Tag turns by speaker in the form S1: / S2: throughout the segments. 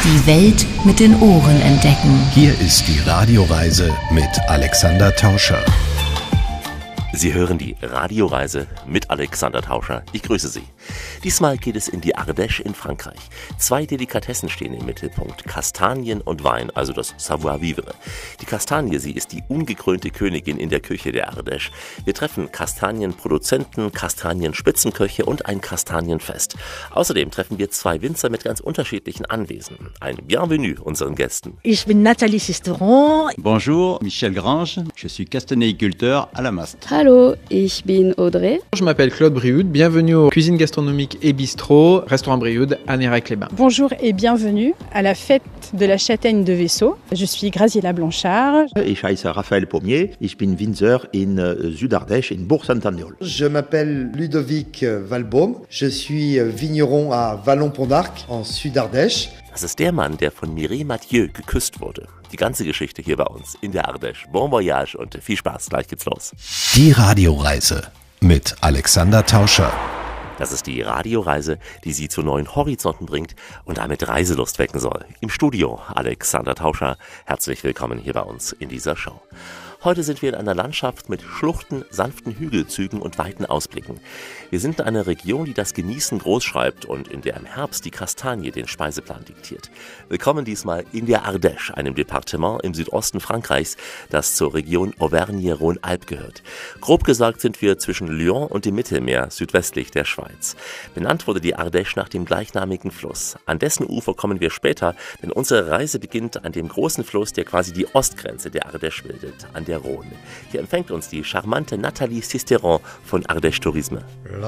S1: Die Welt mit den Ohren entdecken.
S2: Hier ist die Radioreise mit Alexander Tauscher.
S3: Sie hören die Radioreise mit Alexander Tauscher. Ich grüße Sie. Diesmal geht es in die Ardèche in Frankreich. 2 Delikatessen stehen im Mittelpunkt: Kastanien und Wein, also das Savoir-vivre. Die Kastanie, sie ist die ungekrönte Königin in der Küche der Ardèche. Wir treffen Kastanienproduzenten, Kastanienspitzenköche und ein Kastanienfest. Außerdem treffen wir 2 Winzer mit ganz unterschiedlichen Anwesen. Ein Bienvenue unseren Gästen.
S4: Ich bin Nathalie Sisteron.
S5: Bonjour, Michel Grange. Je suis castanéiculteur à la Mast.
S6: Hallo, ich bin Audrey.
S7: Je m'appelle Claude Brioude, bienvenue aux Cuisine Gastronomique et Bistrot, Restaurant Brioude à Nérac-les-Bains.
S8: Bonjour et bienvenue à la fête de la châtaigne de Vaisseau. Je suis Graziella Blanchard.
S9: Ich heiße Raphaël Pommier, ich bin Winzer in Südardèche, in Bourg-Saint-Andéol.
S10: Je m'appelle Ludovic Valbaum, je suis vigneron à Vallon-Pont-d'Arc en Südardèche.
S3: Das ist der Mann, der von Mireille Mathieu geküsst wurde. Die ganze Geschichte hier bei uns in der Ardèche. Bon voyage und viel Spaß. Gleich geht's los.
S2: Die Radioreise mit Alexander Tauscher.
S3: Das ist die Radioreise, die Sie zu neuen Horizonten bringt und damit Reiselust wecken soll. Im Studio Alexander Tauscher. Herzlich willkommen hier bei uns in dieser Show. Heute sind wir in einer Landschaft mit Schluchten, sanften Hügelzügen und weiten Ausblicken. Wir sind in einer Region, die das Genießen groß schreibt und in der im Herbst die Kastanie den Speiseplan diktiert. Willkommen diesmal in der Ardèche, einem Departement im Südosten Frankreichs, das zur Region Auvergne-Rhône-Alpes gehört. Grob gesagt sind wir zwischen Lyon und dem Mittelmeer, südwestlich der Schweiz. Benannt wurde die Ardèche nach dem gleichnamigen Fluss. An dessen Ufer kommen wir später, denn unsere Reise beginnt an dem großen Fluss, der quasi die Ostgrenze der Ardèche bildet, an der Rhône. Hier empfängt uns die charmante Nathalie Sisteron von Ardèche Tourisme.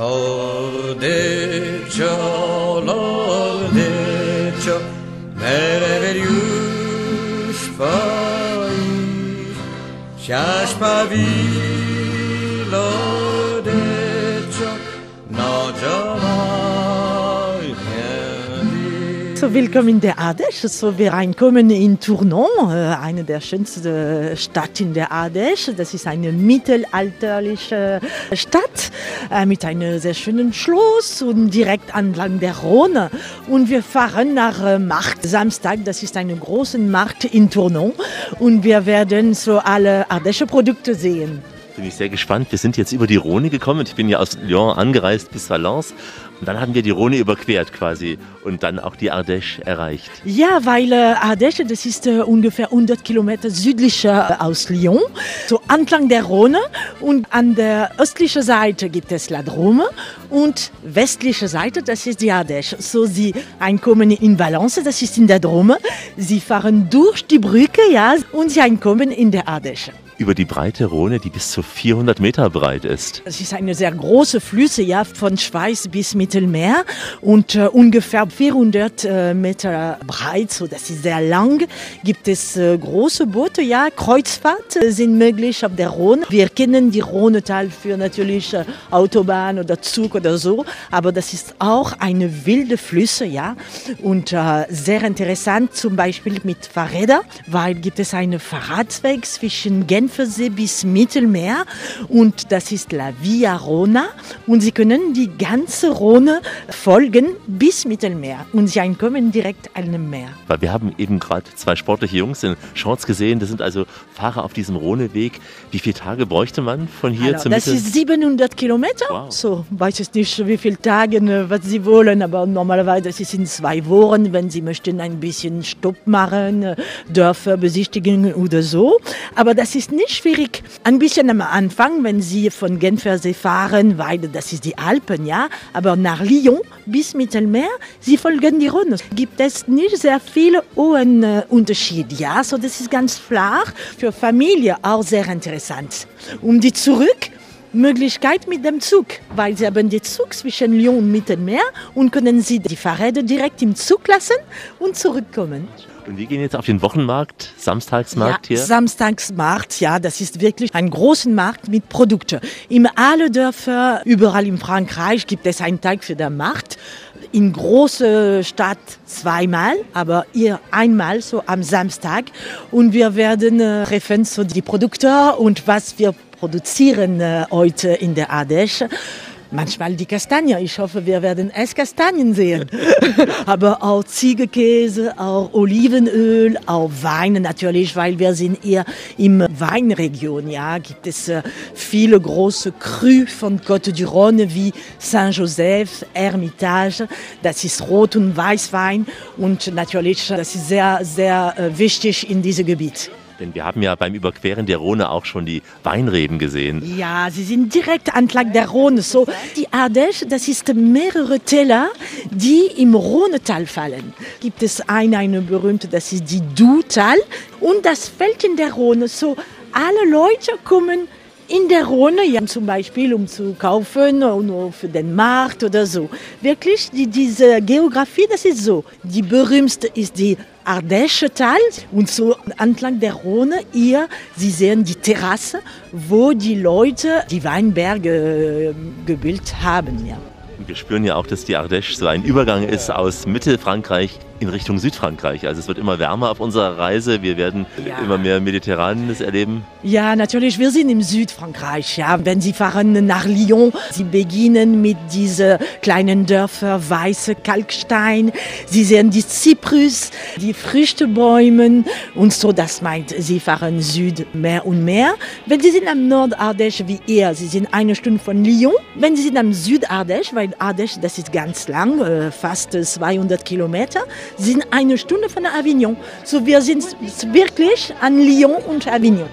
S11: L'Ardèche, l'Ardèche, merveilleux pays, cherche pas vie, l'Ardèche, n'a jamais rien dit.
S4: So, willkommen in der Ardèche. So, wir reinkommen in Tournon, eine der schönsten Städte in der Ardèche. Das ist eine mittelalterliche Stadt mit einem sehr schönen Schloss und direkt entlang der Rhône. Und wir fahren nach Markt. Samstag, das ist ein großer Markt in Tournon. Und wir werden so alle Ardèche-Produkte sehen.
S3: Bin ich sehr gespannt. Wir sind jetzt über die Rhône gekommen. Ich bin ja aus Lyon angereist bis Valence. Und dann haben wir die Rhône überquert quasi und dann auch die Ardèche erreicht.
S4: Ja, weil Ardèche, das ist ungefähr 100 Kilometer südlicher aus Lyon, so entlang der Rhône. Und an der östlichen Seite gibt es La Drôme und westliche Seite, das ist die Ardèche. So, sie einkommen in Valence, das ist in der Drôme. Sie fahren durch die Brücke, ja, und sie einkommen in der Ardèche.
S3: Über die breite Rhône, die bis zu 400 Meter breit ist.
S4: Es ist eine sehr große Flüsse, ja, von Schweiz bis Mittelmeer und ungefähr 400 Meter breit, so das ist sehr lang. Gibt es große Boote, ja, Kreuzfahrt sind möglich auf der Rhône. Wir kennen die Rhônetal für natürlich Autobahn oder Zug oder so, aber das ist auch eine wilde Flüsse, ja, und sehr interessant, zum Beispiel mit Fahrrädern, weil gibt es einen Fahrradweg zwischen Genfersee bis Mittelmeer und das ist La Via Rhôna und Sie können die ganze Rhône folgen bis Mittelmeer und Sie kommen direkt an dem Meer.
S3: Weil wir haben eben gerade 2 sportliche Jungs in Shorts gesehen, das sind also Fahrer auf diesem Rhôneweg. Wie viele Tage bräuchte man von hier zum Mittel?
S4: Das ist 700 Kilometer, wow. So weiß ich nicht, wie viele Tage, was Sie wollen, aber normalerweise ist es in 2 Wochen, wenn Sie möchten ein bisschen Stopp machen, Dörfer besichtigen oder so, aber das ist nicht schwierig. Ein bisschen am Anfang, wenn Sie von Genfersee fahren, weil das ist die Alpen, ja, aber nach Lyon bis Mittelmeer, Sie folgen die Rhône. Gibt es nicht sehr viele hohen Unterschiede, ja, so das ist ganz flach, für Familie auch sehr interessant. Die zurück, Möglichkeit mit dem Zug, weil Sie haben den Zug zwischen Lyon und Mittelmeer und können Sie die Fahrräder direkt im Zug lassen und zurückkommen.
S3: Und wir gehen jetzt auf den Wochenmarkt, Samstagsmarkt hier.
S4: Samstagsmarkt, ja, das ist wirklich ein großer Markt mit Produkten. In alle Dörfer, überall in Frankreich gibt es einen Tag für den Markt. In große Stadt 2-mal, aber hier einmal, so am Samstag. Und wir werden treffen so die Produkte und was wir produzieren heute in der Ardèche. Manchmal die Kastanie. Ich hoffe, wir werden Esskastanien sehen. Aber auch Ziegenkäse, auch Olivenöl, auch Wein natürlich, weil wir sind eher im Weinregion. Ja, gibt es viele große Crus von Côte du Rhône wie Saint-Joseph, Hermitage. Das ist Rot- und Weißwein und natürlich, das ist sehr, sehr wichtig in diesem Gebiet.
S3: Denn wir haben ja beim Überqueren der Rhone auch schon die Weinreben gesehen.
S4: Ja, sie sind direkt entlang der Rhone. So, die Ardèche, das ist mehrere Täler, die im Rhonetal fallen. Gibt es eine berühmte, das ist die Doubs-Tal und das fällt in der Rhone. So, alle Leute kommen in der Rhone, ja, zum Beispiel um zu kaufen oder für den Markt oder so. Wirklich, diese Geografie, das ist so. Die berühmteste ist die Ardèche-Tal und so entlang der Rhone hier, Sie sehen die Terrasse, wo die Leute die Weinberge gebildet haben. Ja.
S3: Wir spüren ja auch, dass die Ardèche so ein Übergang ist aus Mittelfrankreich in Richtung Südfrankreich. Also es wird immer wärmer auf unserer Reise. Wir werden immer mehr Mediterranes erleben.
S4: Ja, natürlich. Wir sind im Südfrankreich. Ja. Wenn Sie fahren nach Lyon, Sie beginnen mit diesen kleinen Dörfern, weiße Kalkstein. Sie sehen die Zyprus, die Früchtebäume und so. Das meint, Sie fahren Süd mehr und mehr. Wenn Sie sind am Nord-Ardèche wie ihr, Sie sind 1 Stunde von Lyon. Wenn Sie sind am Süd-Ardèche, weil Ardèche, das ist ganz lang, fast 200 Kilometer, sind 1 Stunde von Avignon. So, wir sind wirklich an Lyon und Avignon.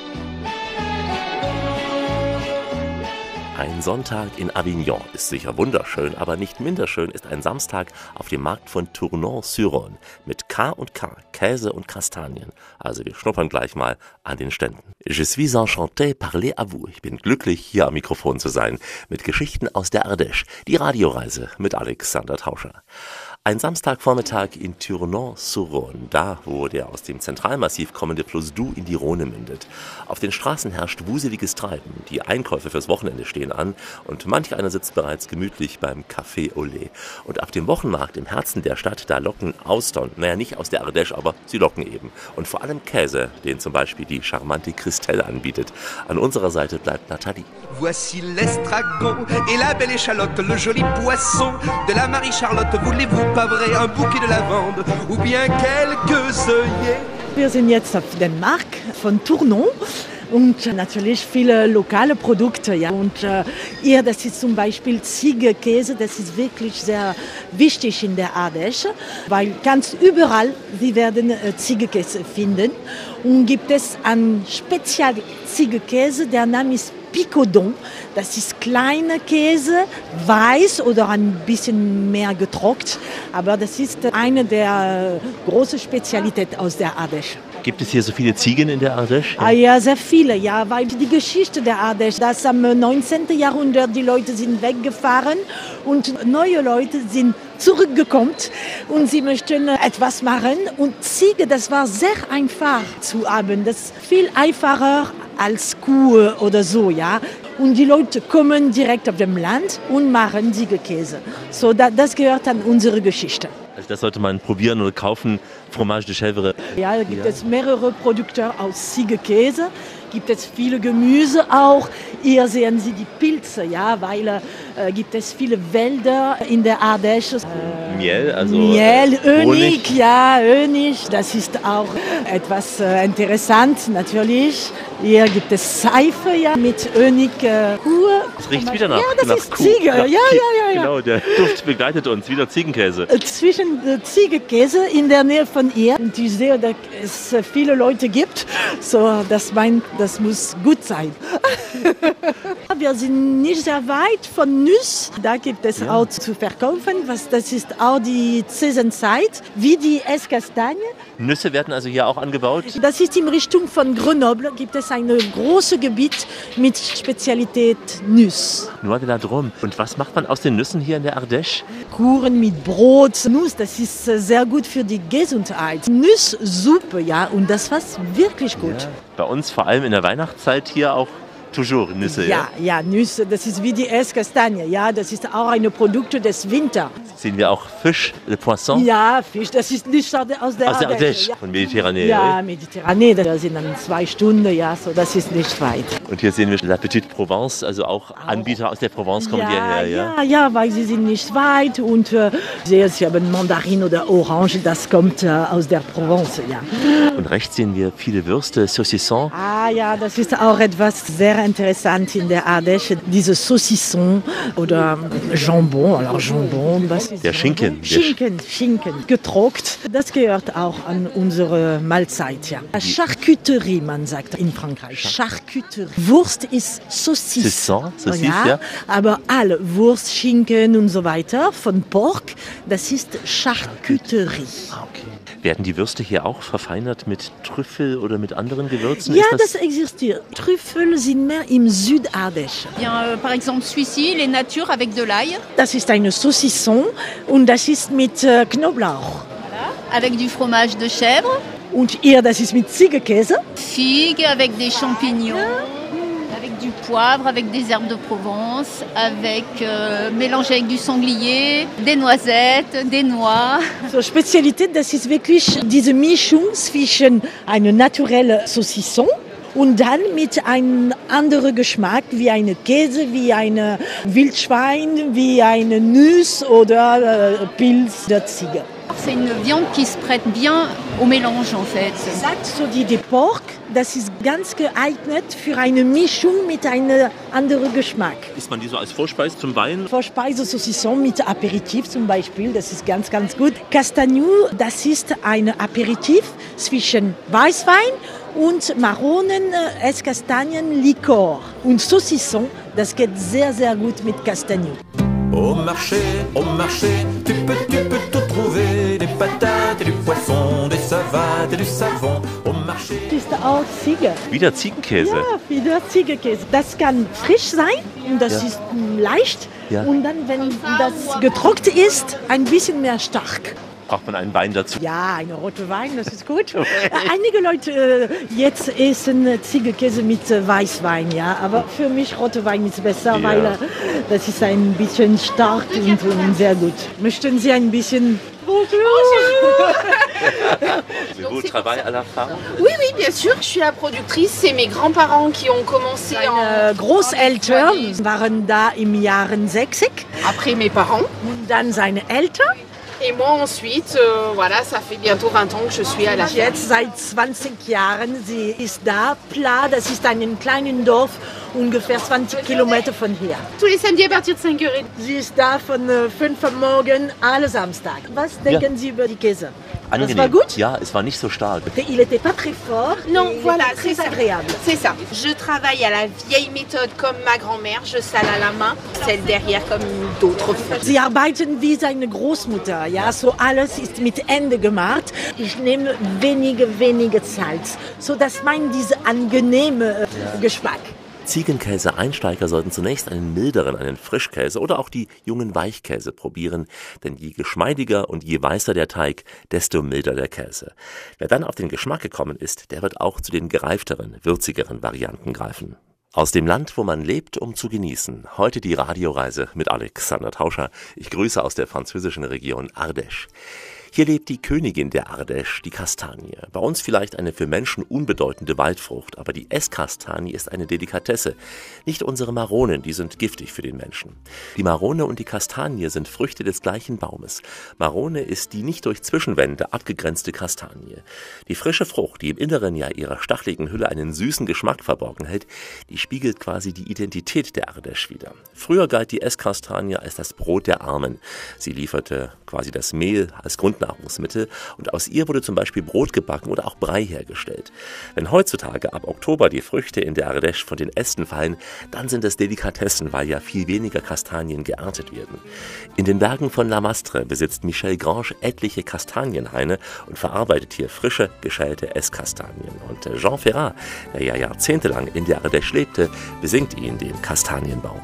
S3: Ein Sonntag in Avignon ist sicher wunderschön, aber nicht minder schön ist ein Samstag auf dem Markt von Tournon-sur-Rhône mit K&K, Käse und Kastanien. Also wir schnuppern gleich mal an den Ständen. Je suis enchanté parler à vous. Ich bin glücklich, hier am Mikrofon zu sein mit Geschichten aus der Ardèche. Die Radioreise mit Alexander Tauscher. Ein Samstagvormittag in Tournon-sur-Rhône, da wo der aus dem Zentralmassiv kommende Fluss Doubs in die Rhone mündet. Auf den Straßen herrscht wuseliges Treiben, die Einkäufe fürs Wochenende stehen an und manch einer sitzt bereits gemütlich beim Café au lait. Und auf dem Wochenmarkt im Herzen der Stadt, da locken Austern, naja nicht aus der Ardèche, aber sie locken eben. Und vor allem Käse, den zum Beispiel die charmante Christelle anbietet. An unserer Seite bleibt Nathalie.
S12: Voici l'estragon et la belle échalote, le joli poisson de la Marie-Charlotte. Voulez-vous pas vrai un bouquet de lavande ou bien quelques œillets?
S4: Wir sind jetzt auf dem Markt von Tournon. Und natürlich viele lokale Produkte. Ja. Und hier, das ist zum Beispiel Ziegenkäse, das ist wirklich sehr wichtig in der Ardèche, weil ganz überall Sie werden Ziegenkäse finden. Und gibt es einen Spezial-Ziegenkäse, der Name ist Picodon. Das ist kleiner Käse, weiß oder ein bisschen mehr getrocknet. Aber das ist eine der großen Spezialitäten aus der Ardèche.
S3: Gibt es hier so viele Ziegen in der Ardèche?
S4: Ah ja, sehr viele, ja, weil die Geschichte der Ardèche, dass am 19. Jahrhundert die Leute sind weggefahren und neue Leute sind zurückgekommen und sie möchten etwas machen. Und Ziege, das war sehr einfach zu haben, das ist viel einfacher als Kuh oder so, ja. Und die Leute kommen direkt auf dem Land und machen Ziegenkäse. So, das gehört an unsere Geschichte.
S3: Also das sollte man probieren oder kaufen, Fromage de Chèvre.
S4: Ja, da gibt es mehrere Produkte aus Ziegenkäse. Gibt es viele Gemüse auch. Hier sehen Sie die Pilze, ja, weil gibt es viele Wälder in der Ardèche.
S3: Miel, also
S4: Miel, Honig,
S3: Honig.
S4: Ja, Honig. Das ist auch etwas interessant, natürlich. Hier gibt es Seife, ja, mit Honig.
S3: Es riecht wieder nach,
S4: ja, das
S3: nach
S4: ist
S3: Kuh.
S4: Ziege.
S3: Ja.
S4: Ja.
S3: Genau, der Duft begleitet uns, wieder Ziegenkäse.
S4: Zwischen Ziegenkäse in der Nähe von ihr. Und ich sehe, dass es viele Leute gibt. So, das muss gut sein. Wir sind nicht sehr weit von Nuss. Da gibt es auch zu verkaufen. Das ist auch die Saisonzeit, wie die Esskastanie.
S3: Nüsse werden also hier auch angebaut?
S4: Das ist in Richtung von Grenoble. Gibt es ein großes Gebiet mit Spezialität Nuss.
S3: Noix de la Drôme. Und was macht man aus den Nüssen hier in der Ardèche?
S4: Kuchen mit Brot. Nuss, das ist sehr gut für die Gesundheit. Nusssuppe, ja, und das war wirklich gut.
S3: Ja. Bei uns vor allem in der Weihnachtszeit hier auch Toujours Nüsse,
S4: ja? Ja, Nüsse, das ist wie die Esskastanie, ja, das ist auch ein Produkt des Winters.
S3: Sehen wir auch Fisch, le Poisson?
S4: Ja, Fisch, das ist nicht aus der
S3: Ardèche,
S4: ja.
S3: Von Mediterranee.
S4: Ja, Mediterranee, das sind dann 2 Stunden, ja, so, das ist nicht weit.
S3: Und hier sehen wir La Petite Provence, also auch Anbieter aus der Provence kommen hierher, ja?
S4: Ja, weil sie sind nicht weit und sie haben Mandarin oder Orange, das kommt aus der Provence, ja.
S3: Und rechts sehen wir viele Würste, Saucisson.
S4: Ah ja, das ist auch etwas sehr interessant in der Ardèche, diese Saucisson oder Jambon, alors Jambon, was ist
S3: der Schinken.
S4: Schinken, getrocknet, das gehört auch an unsere Mahlzeit, ja. Charcuterie, man sagt in Frankreich, Charcuterie. Wurst ist Saucisson,
S3: ja.
S4: Aber alle Wurst, Schinken und so weiter von Pork, das ist Charcuterie.
S3: Okay. Werden die Würste hier auch verfeinert mit Trüffel oder mit anderen Gewürzen?
S4: Ja, das existiert. Trüffel sind mehr im Südardèche.
S13: Par exemple, celui-ci, les natures avec de l'ail.
S4: Das ist eine Saucisson und das ist mit Knoblauch.
S13: Voilà. Avec du fromage de chèvre.
S4: Und hier, das ist mit Ziegenkäse.
S13: Figue avec des champignons. Avec du poivre, avec des herbes de Provence, avec mélangé avec du sanglier, des noisettes, des noix.
S4: So, Spezialität, das ist wirklich diese Mischung zwischen einer naturellen Saucisson und dann mit einem anderen Geschmack, wie eine Käse, wie ein Wildschwein, wie eine Nuss oder Pilz der Ziege.
S13: C'est une viande qui se prête bien au mélange en fait.
S4: Sagt so die Pork, das ist ganz geeignet für eine Mischung mit einem anderen Geschmack.
S3: Isst man die so als Vorspeise zum Wein?
S4: Vorspeise Saucisson mit Aperitif zum Beispiel, das ist ganz, ganz gut. Castagnou, das ist ein Aperitif zwischen Weißwein und Maronen, Esskastanien, Likör. Und Saucisson, das geht sehr, sehr gut mit Castagnou.
S11: Au marché, tu peux tout trouver, des patates et du poisson, des savates et du savon. Au marché.
S4: Das ist auch Ziege.
S3: Wieder Ziegenkäse?
S4: Ja, wieder Ziegenkäse. Das kann frisch sein und das ist leicht. Ja. Und dann, wenn das getrocknet ist, ein bisschen mehr stark.
S3: Braucht man einen Wein dazu?
S4: Ja, einen roten Wein, das ist gut. Einige Leute jetzt essen Ziegenkäse mit Weißwein, ja. Aber für mich roter Wein ist besser, ja. Weil das ist ein bisschen stark und sehr gut. Möchten Sie ein bisschen...
S13: Bonjour.
S3: Vous travaillez à la femme?
S14: Oui, bien sûr. Je suis la productrice. C'est mes grands-parents qui ont commencé
S4: Meine Großeltern waren da im Jahre 60.
S14: Après mes parents.
S4: Und dann seine Eltern.
S14: Et moi ensuite, voilà, ça fait bientôt 20 ans que je suis à la ferme.
S4: Jetzt seit 20 Jahren, sie ist da. Pla, das ist ein kleines Dorf, ungefähr 20 Kilometer von hier.
S14: Tous les samedis à partir de 5h30.
S4: Sie ist da von 5 Uhr morgens, alle Samstag. Was denken Sie über die Käse?
S3: Angenehm.
S4: Das war gut?
S3: Ja, es war nicht so stark.
S4: Il n'était pas très fort.
S14: Non, voilà,
S4: c'est agréable.
S14: C'est ça. Je travaille à la vieille méthode comme ma grand-mère. Je sale à la main, celle derrière comme d'autres font.
S4: Sie arbeiten wie seine Großmutter. Ja, so alles ist mit Ende gemacht. Ich nehme wenige Salz, so dass man diese angenehme Geschmack.
S3: Ziegenkäse-Einsteiger sollten zunächst einen milderen, einen Frischkäse oder auch die jungen Weichkäse probieren, denn je geschmeidiger und je weißer der Teig, desto milder der Käse. Wer dann auf den Geschmack gekommen ist, der wird auch zu den gereifteren, würzigeren Varianten greifen. Aus dem Land, wo man lebt, um zu genießen. Heute die Radioreise mit Alexander Tauscher. Ich grüße aus der französischen Region Ardèche. Hier lebt die Königin der Ardèche, die Kastanie. Bei uns vielleicht eine für Menschen unbedeutende Waldfrucht, aber die Esskastanie ist eine Delikatesse. Nicht unsere Maronen, die sind giftig für den Menschen. Die Marone und die Kastanie sind Früchte des gleichen Baumes. Marone ist die nicht durch Zwischenwände abgegrenzte Kastanie. Die frische Frucht, die im Inneren ja ihrer stacheligen Hülle einen süßen Geschmack verborgen hält, die spiegelt quasi die Identität der Ardèche wider. Früher galt die Esskastanie als das Brot der Armen. Sie lieferte quasi das Mehl als Grundnahrungsmittel und aus ihr wurde zum Beispiel Brot gebacken oder auch Brei hergestellt. Wenn heutzutage ab Oktober die Früchte in der Ardèche von den Ästen fallen, dann sind es Delikatessen, weil ja viel weniger Kastanien geerntet werden. In den Bergen von La Mastre besitzt Michel Grange etliche Kastanienhaine und verarbeitet hier frische, geschälte Esskastanien. Und Jean Ferrat, der ja jahrzehntelang in der Ardèche lebte, besingt ihn den Kastanienbaum.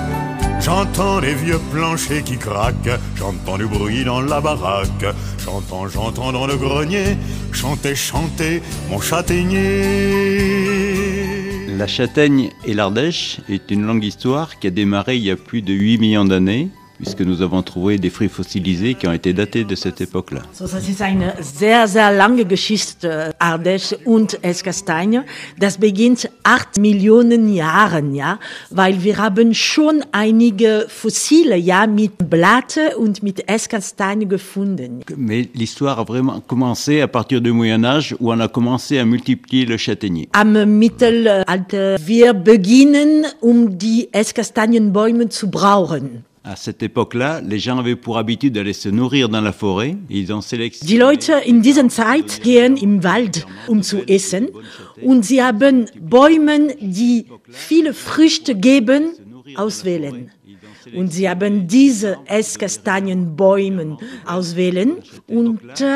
S15: J'entends les vieux planchers qui craquent, j'entends du bruit dans la baraque, j'entends dans le grenier, chanter mon châtaignier.
S5: La châtaigne et l'Ardèche est une longue histoire qui a démarré il y a plus de 8 millions d'années, puisque nous avons trouvé des fruits fossilisés qui ont été datés de cette époque-là.
S4: So, das ist eine sehr, sehr lange Geschichte, Ardèche und Esskastanje. Das beginnt 8 Millionen Jahren, ja, weil wir haben schon einige Fossile, ja, mit Blatte und mit Esskastanje gefunden.
S5: Mais l'histoire a vraiment commencé à partir du Moyen-Âge, où on a commencé à multiplier le châtaignier.
S4: Am Mittelalter, wir beginnen, die Esskastanjenbäume zu brauchen.
S5: À cette époque-là, les gens avaient pour habitude d'aller se nourrir dans la forêt. Ils ont sélectionné.
S4: Die Leute in dieser Zeit gehen im Wald, zu essen, und sie haben Bäume, die viele Früchte geben, auswählen. Und sie haben diese Esskastanienbäume auswählen und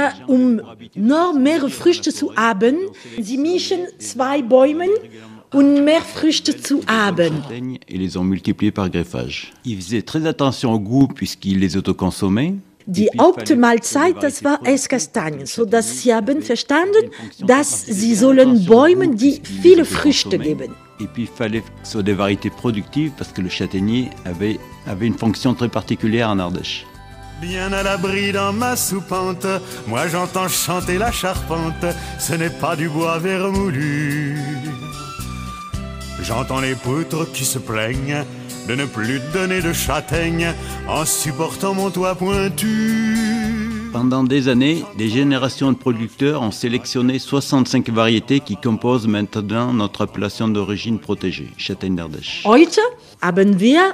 S4: noch mehr Früchte zu haben, sie mischen 2 Bäume und mehr Früchte zu haben.
S5: Et les ont multipliés par greffage. Ils faisaient très attention au goût puisqu'ils les autoconsommaient.
S4: Die Hauptmahlzeit, das war Esskastanien, so dass sie haben verstanden, dass sie sollen Bäume, die viele Früchte geben.
S5: Et puis il fallait que ce soit des variétés productives parce que le châtaignier avait une fonction très particulière en Ardèche.
S15: Bien à l'abri dans ma soupente, moi j'entends chanter la charpente, ce n'est pas du bois vermoulu. J'entends les poutres qui se plaignent de ne plus donner de châtaignes en supportant mon toit pointu.
S5: Pendant des années, des générations de producteurs ont sélectionné 65 variétés qui composent maintenant notre appellation d'origine protégée, Châtaigne d'Ardèche.
S4: Heute haben wir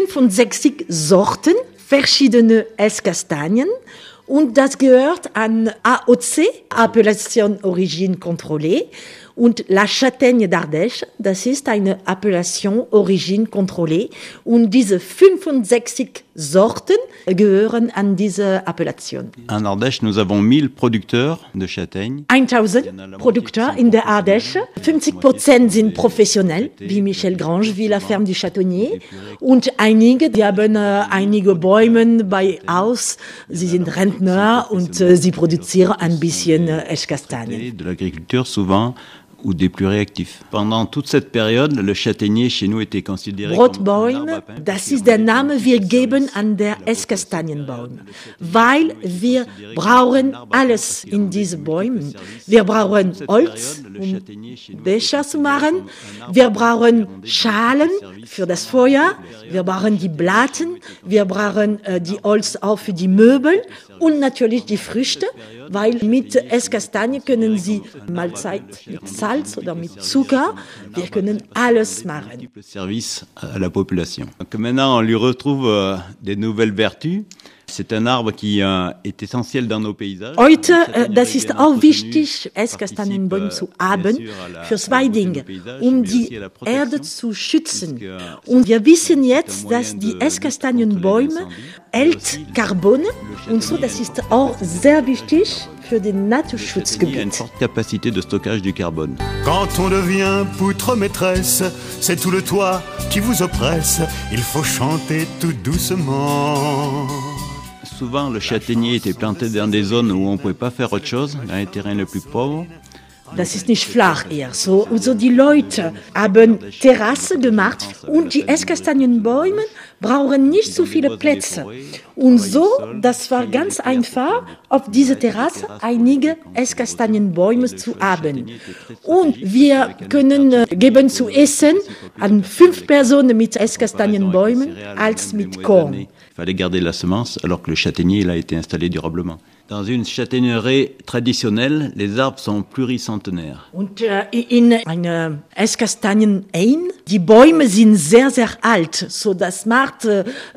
S4: 65 Sorten, verschiedene Esskastanien, und das gehört an AOC, Appellation Origine Contrôlée. Und La Châtaigne d'Ardèche, das ist eine Appellation Origine Contrôlée. Und diese 65 Sorten gehören an diese Appellation.
S5: En Ardèche, nous avons 1000 producteurs de châtaignes.
S4: 1000 Produkte in der Ardèche. 50% sind professionell, wie Michel Grange, wie La Ferme du Châtonnier. Und einige, die haben einige Bäume bei Haus. Sie sind Rentner und sie produzieren ein bisschen Esskastanien.
S5: De l'agriculture souvent, ou des plus réactifs. Pendant toute cette période, le châtaignier chez nous était considéré
S4: Brotbäume, das ist der Name, wir geben an der Esskastanienbaum, weil wir brauchen alles in diesen Bäumen. Wir brauchen Holz, Becher zu machen, wir brauchen Schalen für das Feuer, wir brauchen die Blatten, wir brauchen die Holz auch für die Möbel und natürlich die Früchte, weil mit Esskastanie können Sie Mahlzeit mit Salz oder mit Zucker, wir können alles machen.
S5: Service à la population. Donc maintenant, on lui retrouve des nouvelles vertus. C'est un arbre qui est essentiel dans nos paysages.
S4: Heute, das ist auch wichtig, Esskastanienbäume zu haben, für 2 Dinge, die Erde zu schützen. Und wir wissen jetzt, dass die Esskastanienbäume hält Carbone und so, das ist auch sehr wichtig für den Naturschutzgebiet.
S5: Il y a une forte capacité de stockage du carbone.
S15: Quand on devient poutre maîtresse, c'est tout le toit qui vous oppresse, il faut chanter tout doucement.
S5: Souvent, le châtaignier était planté dans des zones où on ne pouvait pas faire autre chose, dans les terrains les plus pauvres.
S4: Das ist nicht flach eher so. Also die Leute haben Terrasse gemacht und die Esskastanienbäume brauchen nicht so viele Plätze. Und so, das war ganz einfach, auf dieser Terrasse einige Esskastanienbäume zu haben. Und wir können geben zu essen an 5 Personen mit Esskastanienbäumen als mit Korn.
S5: Il fallait garder la semence alors que le châtaignier il a été installé durablement. Dans une châtaigneraie traditionnelle, les arbres sont pluricentenaires.
S4: Und in einer Esskastanien-Hain, die Bäume sind sehr, sehr alt. So, das macht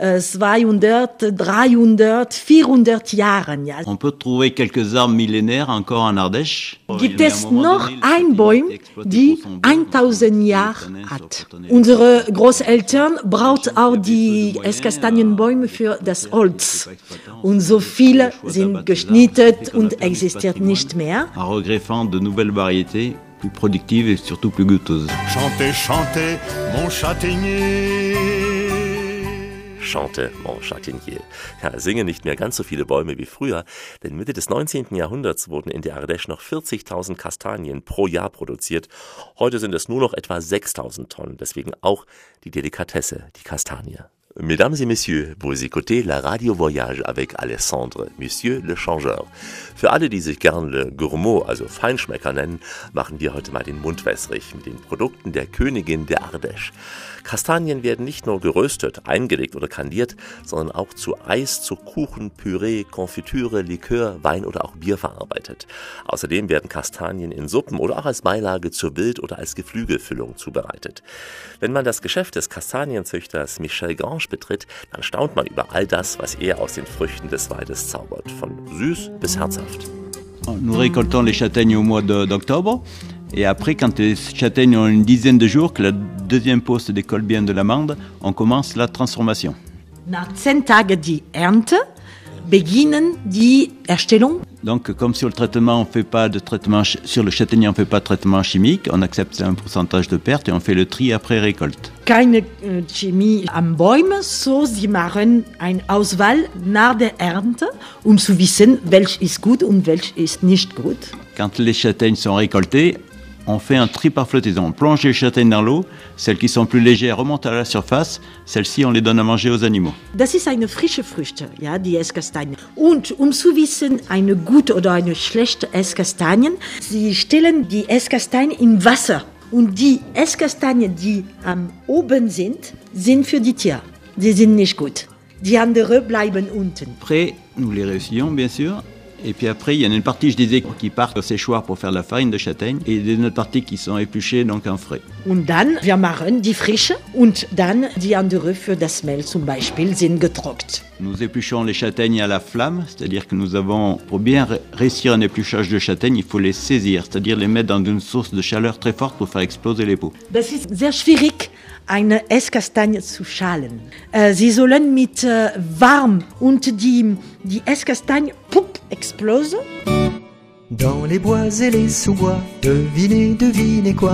S4: 200, 300, 400 Jahre. Ja.
S5: On peut trouver quelques arbres millénaires encore en Ardèche.
S4: Gibt es noch ein Baum, die 1000 Jahre hat. Unsere Großeltern brauchten auch die Esskastanienbäume für das Holz. Und so viele sind geschnitten und existiert nicht mehr.
S5: En regreffant de nouvelles variétés plus productives et surtout plus goûteuses.
S15: Chantez, chantez, mon châtaignier.
S3: chante mon châtaignier. Ja, singen nicht mehr ganz so viele Bäume wie früher, denn Mitte des 19. Jahrhunderts wurden in der Ardèche noch 40.000 Kastanien pro Jahr produziert. Heute sind es nur noch etwa 6.000 Tonnen, deswegen auch die Delikatesse, die Kastanie. Mesdames et Messieurs, vous écoutez la Radio Voyage avec Alessandre, Monsieur le Changeur. Für alle, die sich gern Le Gourmand, also Feinschmecker nennen, machen wir heute mal den Mund wässrig mit den Produkten der Königin der Ardèche. Kastanien werden nicht nur geröstet, eingelegt oder kandiert, sondern auch zu Eis, zu Kuchen, Püree, Konfitüre, Likör, Wein oder auch Bier verarbeitet. Außerdem werden Kastanien in Suppen oder auch als Beilage zur Wild- oder als Geflügelfüllung zubereitet. Wenn man das Geschäft des Kastanienzüchters Michel Grange betritt, dann staunt man über all das, was er aus den Früchten des Waldes zaubert, von süß bis herzhaft.
S5: Nous récoltons les châtaignes au mois d'octobre. Et après, quand les châtaignes ont une dizaine de jours, que la deuxième peau se décolle bien de l'amande, on commence la transformation.
S4: Nach 10 Tagen die Ernte beginnen die Erstellung.
S5: Donc, comme sur le traitement, on fait pas de traitement sur le châtaignier, on fait pas de traitement chimique, on accepte un pourcentage de perte et on fait le tri après récolte.
S4: Keine Chemie am Bäumen, so sie machen eine Auswahl nach der Ernte, zu wissen, welch ist gut und welch ist nicht gut.
S5: Quand les châtaignes sont récoltées, on fait un tri par flottaison. On plonge les châtaignes dans l'eau. Celles qui sont plus légères remontent à la surface. Celles-ci, on les donne à manger aux animaux.
S4: Das ist eine frische Früchte, ja, die Esskastanien. Und zu wissen, eine gute oder eine schlechte Esskastanien, sie stellen die Esskastanien in Wasser. Und die Esskastanien, die am oben sind für die Tiere. Die sind nicht gut. Die anderen bleiben unten.
S5: Après, nous les réessuyons, bien sûr. Et puis après, il y en a une partie, je disais, qui part au séchoir pour faire la farine de châtaigne et une autre partie qui sont épluchées, donc en frais.
S4: Und dann, wir machen die frische und dann die andere für das Mehl zum Beispiel sind getrocknet.
S5: Nous épluchons les châtaignes à la flamme, c'est-à-dire que nous avons, pour bien réussir un épluchage de châtaignes, il faut les saisir, c'est-à-dire les mettre dans une source de chaleur très forte pour faire exploser les peaux.
S4: Das ist sehr schwierig, eine Esskastanie zu schalen. Sie sollen mit warm und die Esskastanie explose.
S16: Dans les bois et les sous-bois, devinez quoi?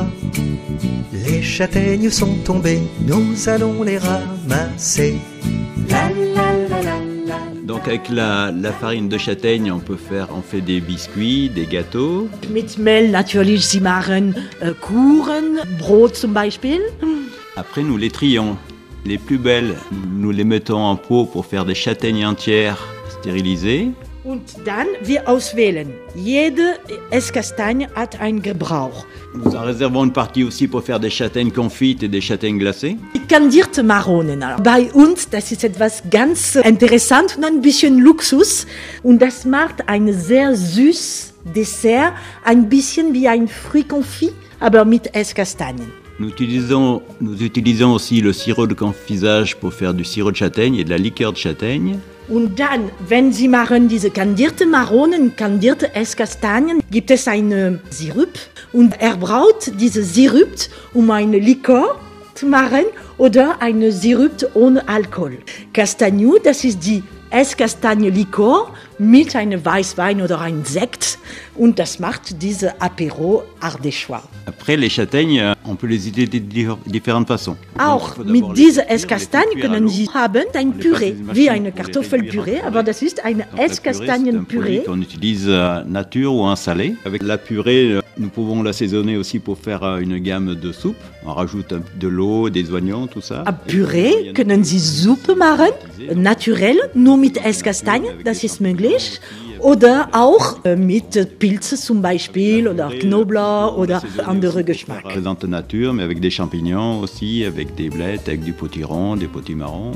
S16: Les châtaignes sont tombées, nous allons les ramasser. La la la la la.
S5: Donc avec la farine de châtaigne, on fait des biscuits, des gâteaux.
S4: Mit Mehl natürlich, sie machen Kuchen, Brot zum Beispiel.
S5: Après, nous les trions. Les plus belles, nous les mettons en pot pour faire des châtaignes entières stérilisées.
S4: Und dann wir auswählen. Jede Esskastanie hat einen Gebrauch.
S5: Nous en réservons une partie aussi pour faire des châtaignes confites et des châtaignes glacées.
S4: Die kandierte Maronen. Bei uns, das ist etwas ganz interessant und ein bisschen Luxus. Und das macht ein sehr süßes Dessert, ein bisschen wie ein Fruit-Confit, aber mit Esskastanien.
S5: Nous utilisons aussi le sirop de confisage pour faire du sirop de châtaigne et de la liqueur de châtaigne.
S4: Und dann, wenn Sie machen diese kandierte Maronen, kandierte Esskastanien, gibt es einen Sirup und braut diese Sirup, eine Likör zu machen oder eine Sirup ohne Alkohol. Castagnou, das ist die Esskastanie-Likör mit einem Weißwein oder einem Sekt und das macht diese Apéro ardéchois.
S5: Après, les châtaignes, on peut les utiliser de différentes façons.
S4: Auch mit dieser Esskastanien können Sie haben ein Püree, wie eine Kartoffelpüree, aber das ist eine Esskastanienpüree.
S5: On utilise nature ou en salé. Avec la purée, nous pouvons l'assaisonner aussi pour faire une gamme de soupe. On rajoute de l'eau, des oignons, tout ça.
S4: A Püree können Sie Suppe machen, naturell, nur mit Esskastanien, das ist möglich. Oder auch mit Pilze zum Beispiel oder Knoblauch oder andere Geschmack.
S5: Présente nature, mais avec des champignons aussi, avec des blettes, avec du potiron, des potimarrons.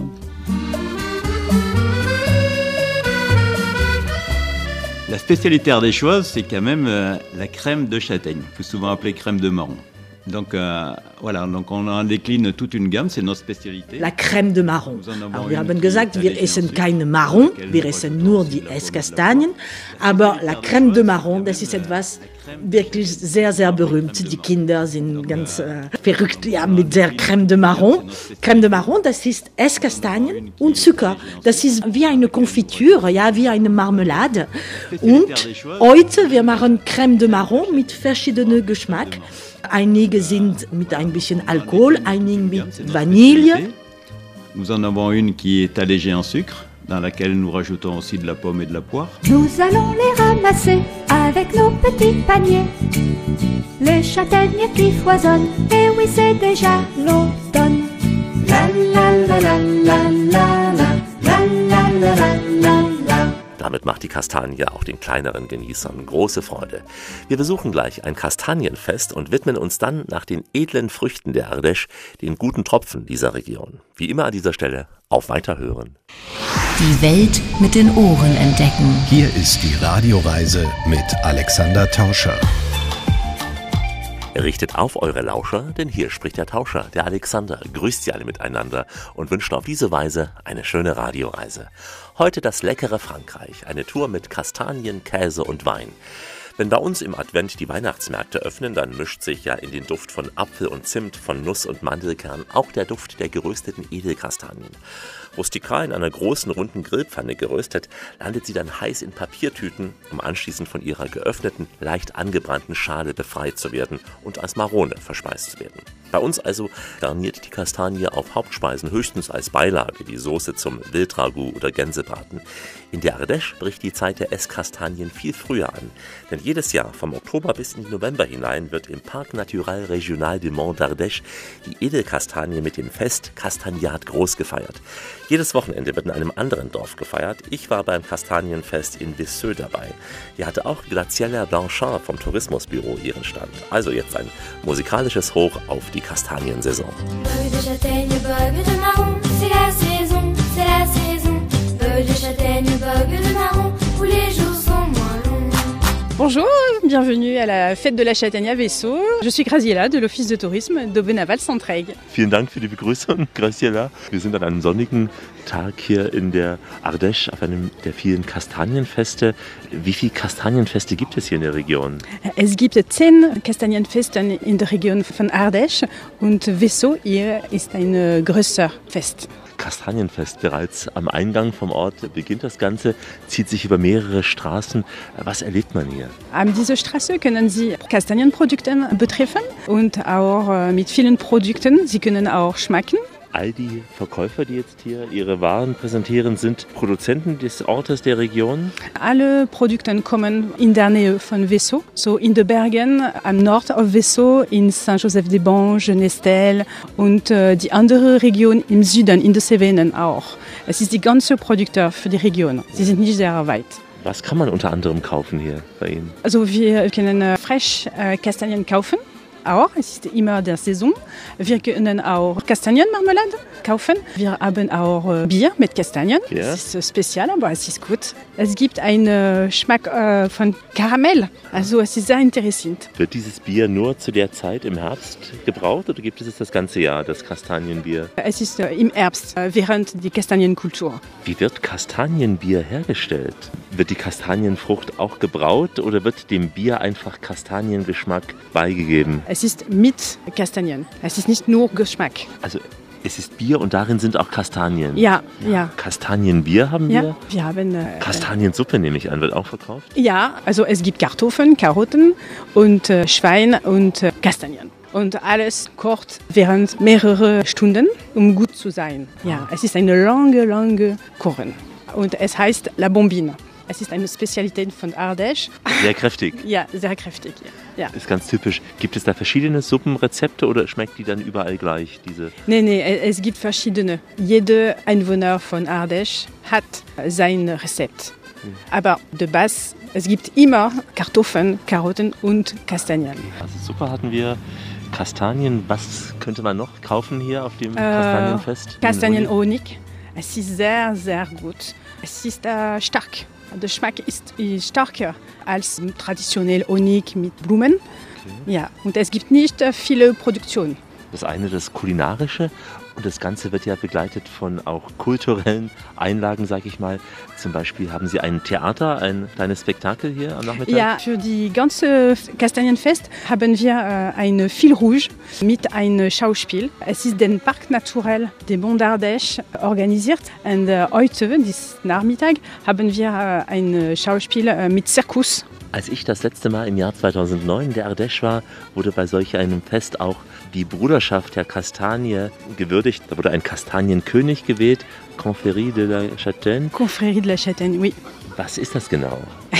S5: La spécialité ardéchoise, c'est quand même la crème de châtaigne, plus souvent appelée crème de marron. Donc voilà, donc on en décline toute une gamme, c'est notre spécialité.
S4: La crème de marron. Alors, wir haben gesagt, wir essen keine Marron, wir essen nur die Esskastanien. Aber la crème de marron, das ist etwas wirklich sehr, sehr berühmt. Die Kinder sind ganz verrückt mit der Crème de marron. Crème de marron, das ist Esskastanien und Zucker. Das ist wie eine Konfitüre, ja, wie eine Marmelade. Und heute, wir machen Crème de marron mit verschiedenen Geschmack. Einige sind mit ein bisschen Alkohol, einige mit Vanille.
S5: Nous en avons une qui est allégée en sucre, dans laquelle nous rajoutons aussi de la pomme et de la poire.
S17: Nous allons les ramasser avec nos petits paniers. Les châtaignes qui foisonnent, et oui c'est déjà l'automne. La la la la la la la la la la la la.
S3: Damit macht die Kastanie auch den kleineren Genießern große Freude. Wir besuchen gleich ein Kastanienfest und widmen uns dann nach den edlen Früchten der Ardèche, den guten Tropfen dieser Region. Wie immer an dieser Stelle, auf Weiterhören.
S1: Die Welt mit den Ohren entdecken.
S2: Hier ist die Radioreise mit Alexander Tauscher.
S3: Richtet auf eure Lauscher, denn hier spricht der Tauscher, der Alexander, grüßt sie alle miteinander und wünscht auf diese Weise eine schöne Radioreise. Heute das leckere Frankreich, eine Tour mit Kastanien, Käse und Wein. Wenn bei uns im Advent die Weihnachtsmärkte öffnen, dann mischt sich ja in den Duft von Apfel und Zimt, von Nuss und Mandelkern auch der Duft der gerösteten Edelkastanien. Rustikal in einer großen, runden Grillpfanne geröstet, landet sie dann heiß in Papiertüten, um anschließend von ihrer geöffneten, leicht angebrannten Schale befreit zu werden und als Marone verspeist zu werden. Bei uns also garniert die Kastanie auf Hauptspeisen höchstens als Beilage die Soße zum Wildragout oder Gänsebraten. In der Ardèche bricht die Zeit der Esskastanien viel früher an, denn jedes Jahr vom Oktober bis in den November hinein wird im Parc Naturel Régional du Mont d'Ardèche die Edelkastanie mit dem Fest Castagnat groß gefeiert. Jedes Wochenende wird in einem anderen Dorf gefeiert. Ich war beim Kastanienfest in Visseux dabei. Hier hatte auch Graziella Blanchard vom Tourismusbüro ihren Stand. Also jetzt ein musikalisches Hoch auf die Kastaniensaison.
S17: Feuilles de châtaigne, bogues de marron, c'est la saison, c'est la saison. Feuilles de châtaigne, bogues de marron, où les jours sont moins longs.
S8: Bonjour, bienvenue à la fête de la Châtaigne à Vessaux. Je suis Graziella de l'Office de Tourisme d'Aubenaval-Centraigue.
S3: Vielen Dank für die Begrüßung, Graziella. Wir sind an einem sonnigen Tag hier in der Ardèche auf einem der vielen Kastanienfeste. Wie viele Kastanienfeste gibt es hier in der Region?
S8: Es gibt 10 Kastanienfeste in der Region von Ardèche und Vessaux hier ist ein größer Fest.
S3: Kastanienfest bereits am Eingang vom Ort beginnt das Ganze, zieht sich über mehrere Straßen. Was erlebt man hier?
S8: An dieser Straße können Sie Kastanienprodukte betreffen und auch mit vielen Produkten. Sie können auch schmecken.
S3: All die Verkäufer, die jetzt hier ihre Waren präsentieren, sind Produzenten des Ortes, der Region?
S8: Alle Produkte kommen in der Nähe von Vessaux, so in den Bergen am Nord auf Vessaux, in Saint-Joseph-des-Banges, Nestel und die andere Region im Süden, in den Cevennen auch. Es ist die ganze Produkte für die Region. Sie sind nicht sehr weit.
S3: Was kann man unter anderem kaufen hier bei Ihnen?
S8: Also wir können fresh Kastanien kaufen. Auch, es ist immer der Saison. Wir können auch Kastanienmarmelade kaufen. Wir haben auch Bier mit Kastanien. Ja. Das ist spezial, aber es ist gut. Es gibt einen Geschmack von Karamell. Also es ist sehr interessant.
S3: Wird dieses Bier nur zu der Zeit im Herbst gebraut oder gibt es das ganze Jahr, das Kastanienbier?
S8: Es ist im Herbst, während der Kastanienkultur.
S3: Wie wird Kastanienbier hergestellt? Wird die Kastanienfrucht auch gebraut oder wird dem Bier einfach Kastaniengeschmack beigegeben?
S8: Es ist mit Kastanien. Es ist nicht nur Geschmack.
S3: Also es ist Bier und darin sind auch Kastanien.
S8: Ja, ja.
S3: Kastanienbier haben wir?
S8: Ja, wir haben...
S3: Kastaniensuppe nehme ich an, wird auch verkauft?
S8: Ja, also es gibt Kartoffeln, Karotten und Schwein und Kastanien. Und alles kocht während mehrerer Stunden, um gut zu sein. Ja, es ist eine lange Kochen. Und es heißt La Bombine. Es ist eine Spezialität von Ardèche.
S3: Sehr kräftig.
S8: Ja, sehr kräftig. Ja.
S3: Ist ganz typisch. Gibt es da verschiedene Suppenrezepte oder schmeckt die dann überall gleich?
S8: Nee, es gibt verschiedene. Jeder Einwohner von Ardèche hat sein Rezept. Aber de base, es gibt immer Kartoffeln, Karotten und Kastanien.
S3: Also super hatten wir. Kastanien, was könnte man noch kaufen hier auf dem Kastanienfest?
S8: Kastanien-Honig. Es ist sehr, sehr gut. Es ist stark. Der Geschmack ist stärker als traditionell Honig mit Blumen. Okay. Ja, und es gibt nicht viele Produktionen.
S3: Das eine das Kulinarische und das Ganze wird ja begleitet von auch kulturellen Einlagen, sage ich mal. Zum Beispiel haben Sie ein Theater, ein kleines Spektakel hier am Nachmittag?
S8: Ja, für die ganze Kastanienfest haben wir ein Fil Rouge mit einem Schauspiel. Es ist den Parc Naturel du Mont d'Ardèche organisiert. Und heute, diesen Nachmittag, haben wir ein Schauspiel mit Zirkus.
S3: Als ich das letzte Mal im Jahr 2009 in der Ardèche war, wurde bei solch einem Fest auch die Bruderschaft der Kastanie gewürdigt. Da wurde ein Kastanienkönig gewählt, Confrérie de la Châtaigne.
S8: Confrérie de la Châtaigne, oui.
S3: Was ist das genau?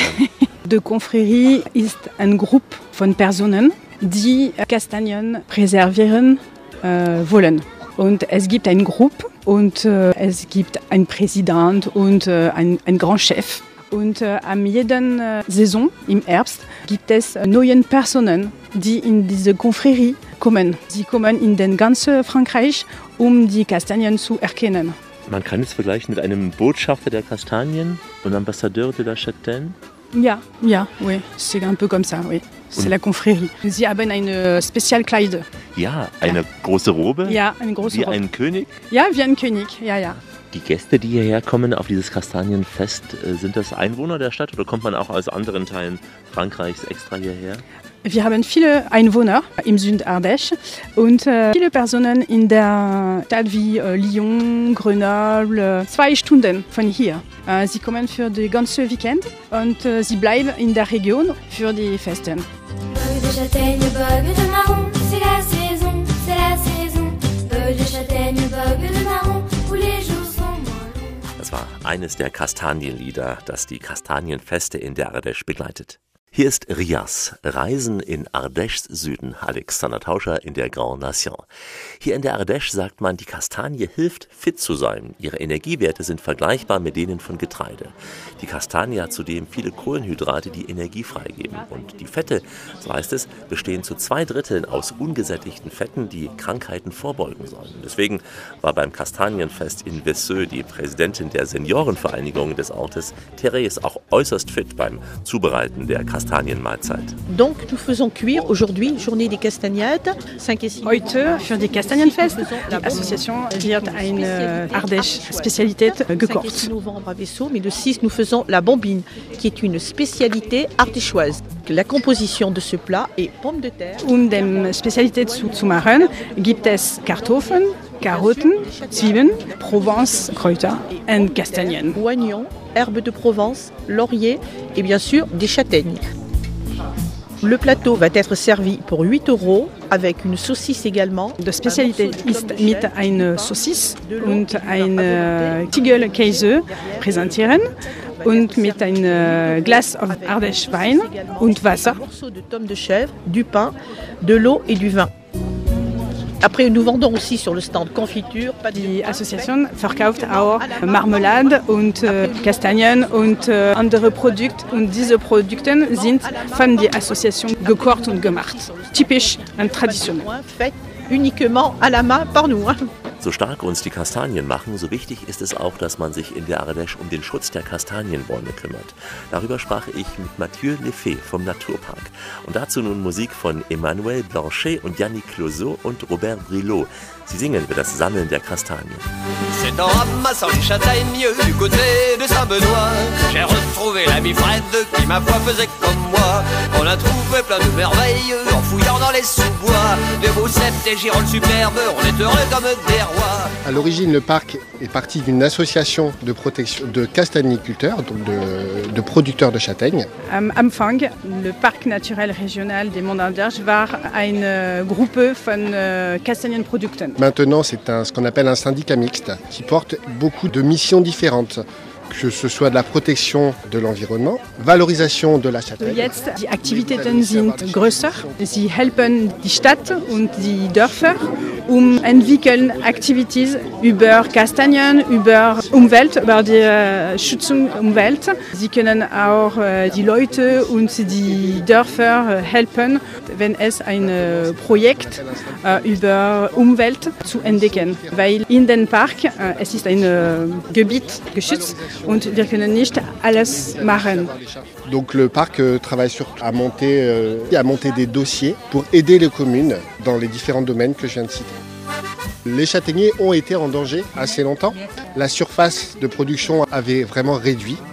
S8: De Confrérie ist ein Gruppe von Personen, die Kastanien präservieren wollen. Und es gibt eine Gruppe und es gibt einen Präsident und einen Grand Chef. Und am jeden Saison im Herbst gibt es neue Personen, die in diese Confrérie kommen. Sie kommen in den ganzen Frankreich, um die Kastanien zu erkennen.
S3: Man kann es vergleichen mit einem Botschafter der Kastanien und Ambassadeur de la Châtaigne.
S8: Ja, oui, c'est un peu comme ça, oui. C'est la Confrérie. Sie haben eine Spezialkleide.
S3: Ja, eine große Robe?
S8: Ja, eine große Robe.
S3: Wie ein König?
S8: Ja, wie ein König, ja.
S3: Die Gäste, die hierher kommen auf dieses Kastanienfest, sind das Einwohner der Stadt oder kommt man auch aus anderen Teilen Frankreichs extra hierher?
S8: Wir haben viele Einwohner im Süd Ardèche und viele Personen in der Stadt wie Lyon, Grenoble, 2 Stunden von hier. Sie kommen für die ganze Weekend und sie bleiben in der Region für die Festen.
S17: Beuge de châtaigne, beuge de marron, c'est la saison, c'est la saison. Beuge de châtaigne, beuge de marron, où les jours sont moins longs.
S3: Das war eines der Kastanienlieder, das die Kastanienfeste in der Ardèche begleitet. Hier ist Rias, Reisen in Ardèches Süden, Alexander Tauscher in der Grande Nation. Hier in der Ardèche sagt man, die Kastanie hilft, fit zu sein. Ihre Energiewerte sind vergleichbar mit denen von Getreide. Die Kastanie hat zudem viele Kohlenhydrate, die Energie freigeben. Und die Fette, so heißt es, bestehen zu 2/3 aus ungesättigten Fetten, die Krankheiten vorbeugen sollen. Deswegen war beim Kastanienfest in Vasseux die Präsidentin der Seniorenvereinigung des Ortes, Therese, auch äußerst fit beim Zubereiten der Kastanienmahlzeit.
S4: Donc nous faisons cuire aujourd'hui, journée des castagnettes, 5 et 6.
S8: Heute für die Kastanienfest. Die Association wird eine Ardèche-Spezialität gekocht.
S4: Novembre à Vasseux, mais le 6 nous faisons la bombine, qui est une spécialité ardéchoise. La composition de ce plat est pommes de terre.
S8: Die Spezialität zu machen, gibt es Kartoffeln, Karotten, Zwiebeln, Provence, Kräuter und Kastanien.
S4: Oignons, herbes de Provence, laurier et bien sûr des châtaignes. Le plateau va être servi pour 8 € avec une saucisse également.
S8: Die Spezialität ist mit einer Saucisse und einem Tiegel-Käse präsentieren und mit einem Glas of Ardèche Wein und Wasser.
S4: Un morceau de tome de chèvre, du pain, de l'eau et du vin. Après, nous vendons aussi sur le stand Confiture.
S8: Die Association verkauft auch Marmelade und Kastanien und andere Produkte. Und diese Produkte sind von der Association gekocht und gemacht. Typisch und traditionell.
S4: Fait uniquement à la main par nous.
S3: So stark uns die Kastanien machen, so wichtig ist es auch, dass man sich in der Ardèche um den Schutz der Kastanienbäume kümmert. Darüber sprach ich mit Mathieu Lefebvre vom Naturpark. Und dazu nun Musik von Emmanuel Blanchet und Yannick Closeau und Robert Brilot. Sie singen über das Sammeln der Kastanien.
S18: C'est en ramassant les châtaignes du côté de Saint-Benoît que j'ai retrouvé l'ami Fred qui ma foi faisait comme moi. On a trouvé plein de merveilles en fouillant dans les sous-bois. De beaux cèpes, des girolles superbes, on est heureux comme des rois.
S19: À l'origine, le parc est parti d'une association de protection de castagniculteurs, donc de producteurs de châtaignes.
S8: Am Anfang, le Parc naturel régional des Monts d'Ardèche war eine Gruppe von Kastanienprodukten.
S19: Maintenant, c'est ce qu'on appelle un syndicat mixte qui porte beaucoup de missions différentes, que ce soit de la protection de l'environnement, valorisation de la Châtaigne.
S8: Jetzt die Aktivitäten sind größer. Sie helfen die Stadt und die Dörfer, entwickeln Aktivitäten über Kastanien, über Umwelt, über die Schützung der Umwelt. Sie können auch die Leute und die Dörfer helfen, wenn es ein Projekt über Umwelt zu entdecken. Weil in dem Park es ist ein Gebiet geschützt und wir können nicht alles machen.
S19: Donc le parc travaille à monter des dossiers pour aider les communes dans les différents domaines que je viens de citer. Les châtaigniers ont été en danger assez longtemps. La surface de production avait vraiment réduit.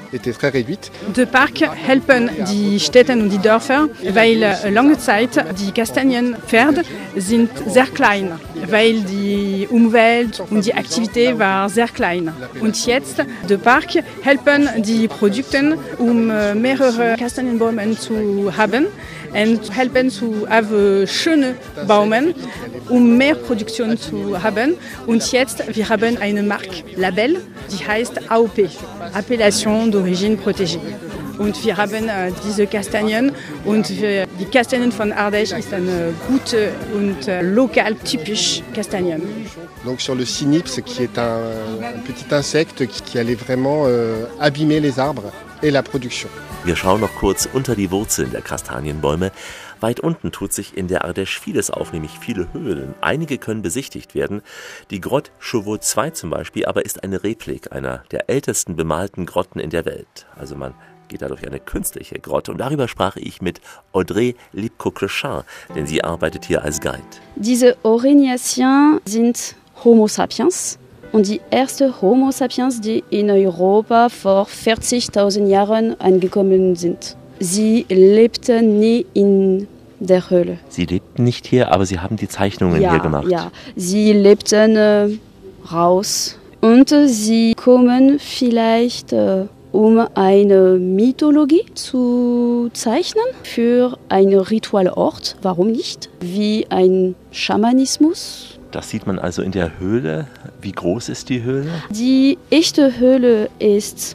S19: était très réduite.
S8: De Park helfen die Städte und die Dörfer, weil lange Zeit die Kastanienpferde sind sehr klein, weil die Umwelt und die Aktivität war sehr klein. Und jetzt, de Park helfen die Produkte, mehrere Kastanienbäume zu haben und helfen zu schöne Bäume, mehr Produktion zu haben. Und jetzt, wir haben eine Marke, Label, die heißt AOP, Appellation d'origine protégée. Und wir haben diese Kastanien und die Kastanien von Ardèche ist eine gute und lokal typisch Kastanien.
S19: Donc sur le Cynips, qui est un petit insecte qui allait vraiment abîmer les arbres et la production.
S3: Wir schauen noch kurz unter die Wurzeln der Kastanienbäume. Weit unten tut sich in der Ardèche vieles auf, nämlich viele Höhlen. Einige können besichtigt werden. Die Grotte Chauveau II zum Beispiel aber ist eine Replik einer der ältesten bemalten Grotten in der Welt. Also man geht da durch eine künstliche Grotte. Und darüber sprach ich mit Audrey Lipko-Clechin, denn sie arbeitet hier als Guide.
S6: Diese Aurignaciens sind Homo sapiens. Und die erste Homo sapiens, die in Europa vor 40.000 Jahren angekommen sind. Sie lebten nie in der Höhle.
S3: Sie lebten nicht hier, aber Sie haben die Zeichnungen hier gemacht.
S6: Ja, sie lebten raus. Und sie kommen vielleicht, um eine Mythologie zu zeichnen für einen Ritualort. Warum nicht? Wie ein Schamanismus.
S3: Das sieht man also in der Höhle. Wie groß ist die Höhle?
S6: Die echte Höhle ist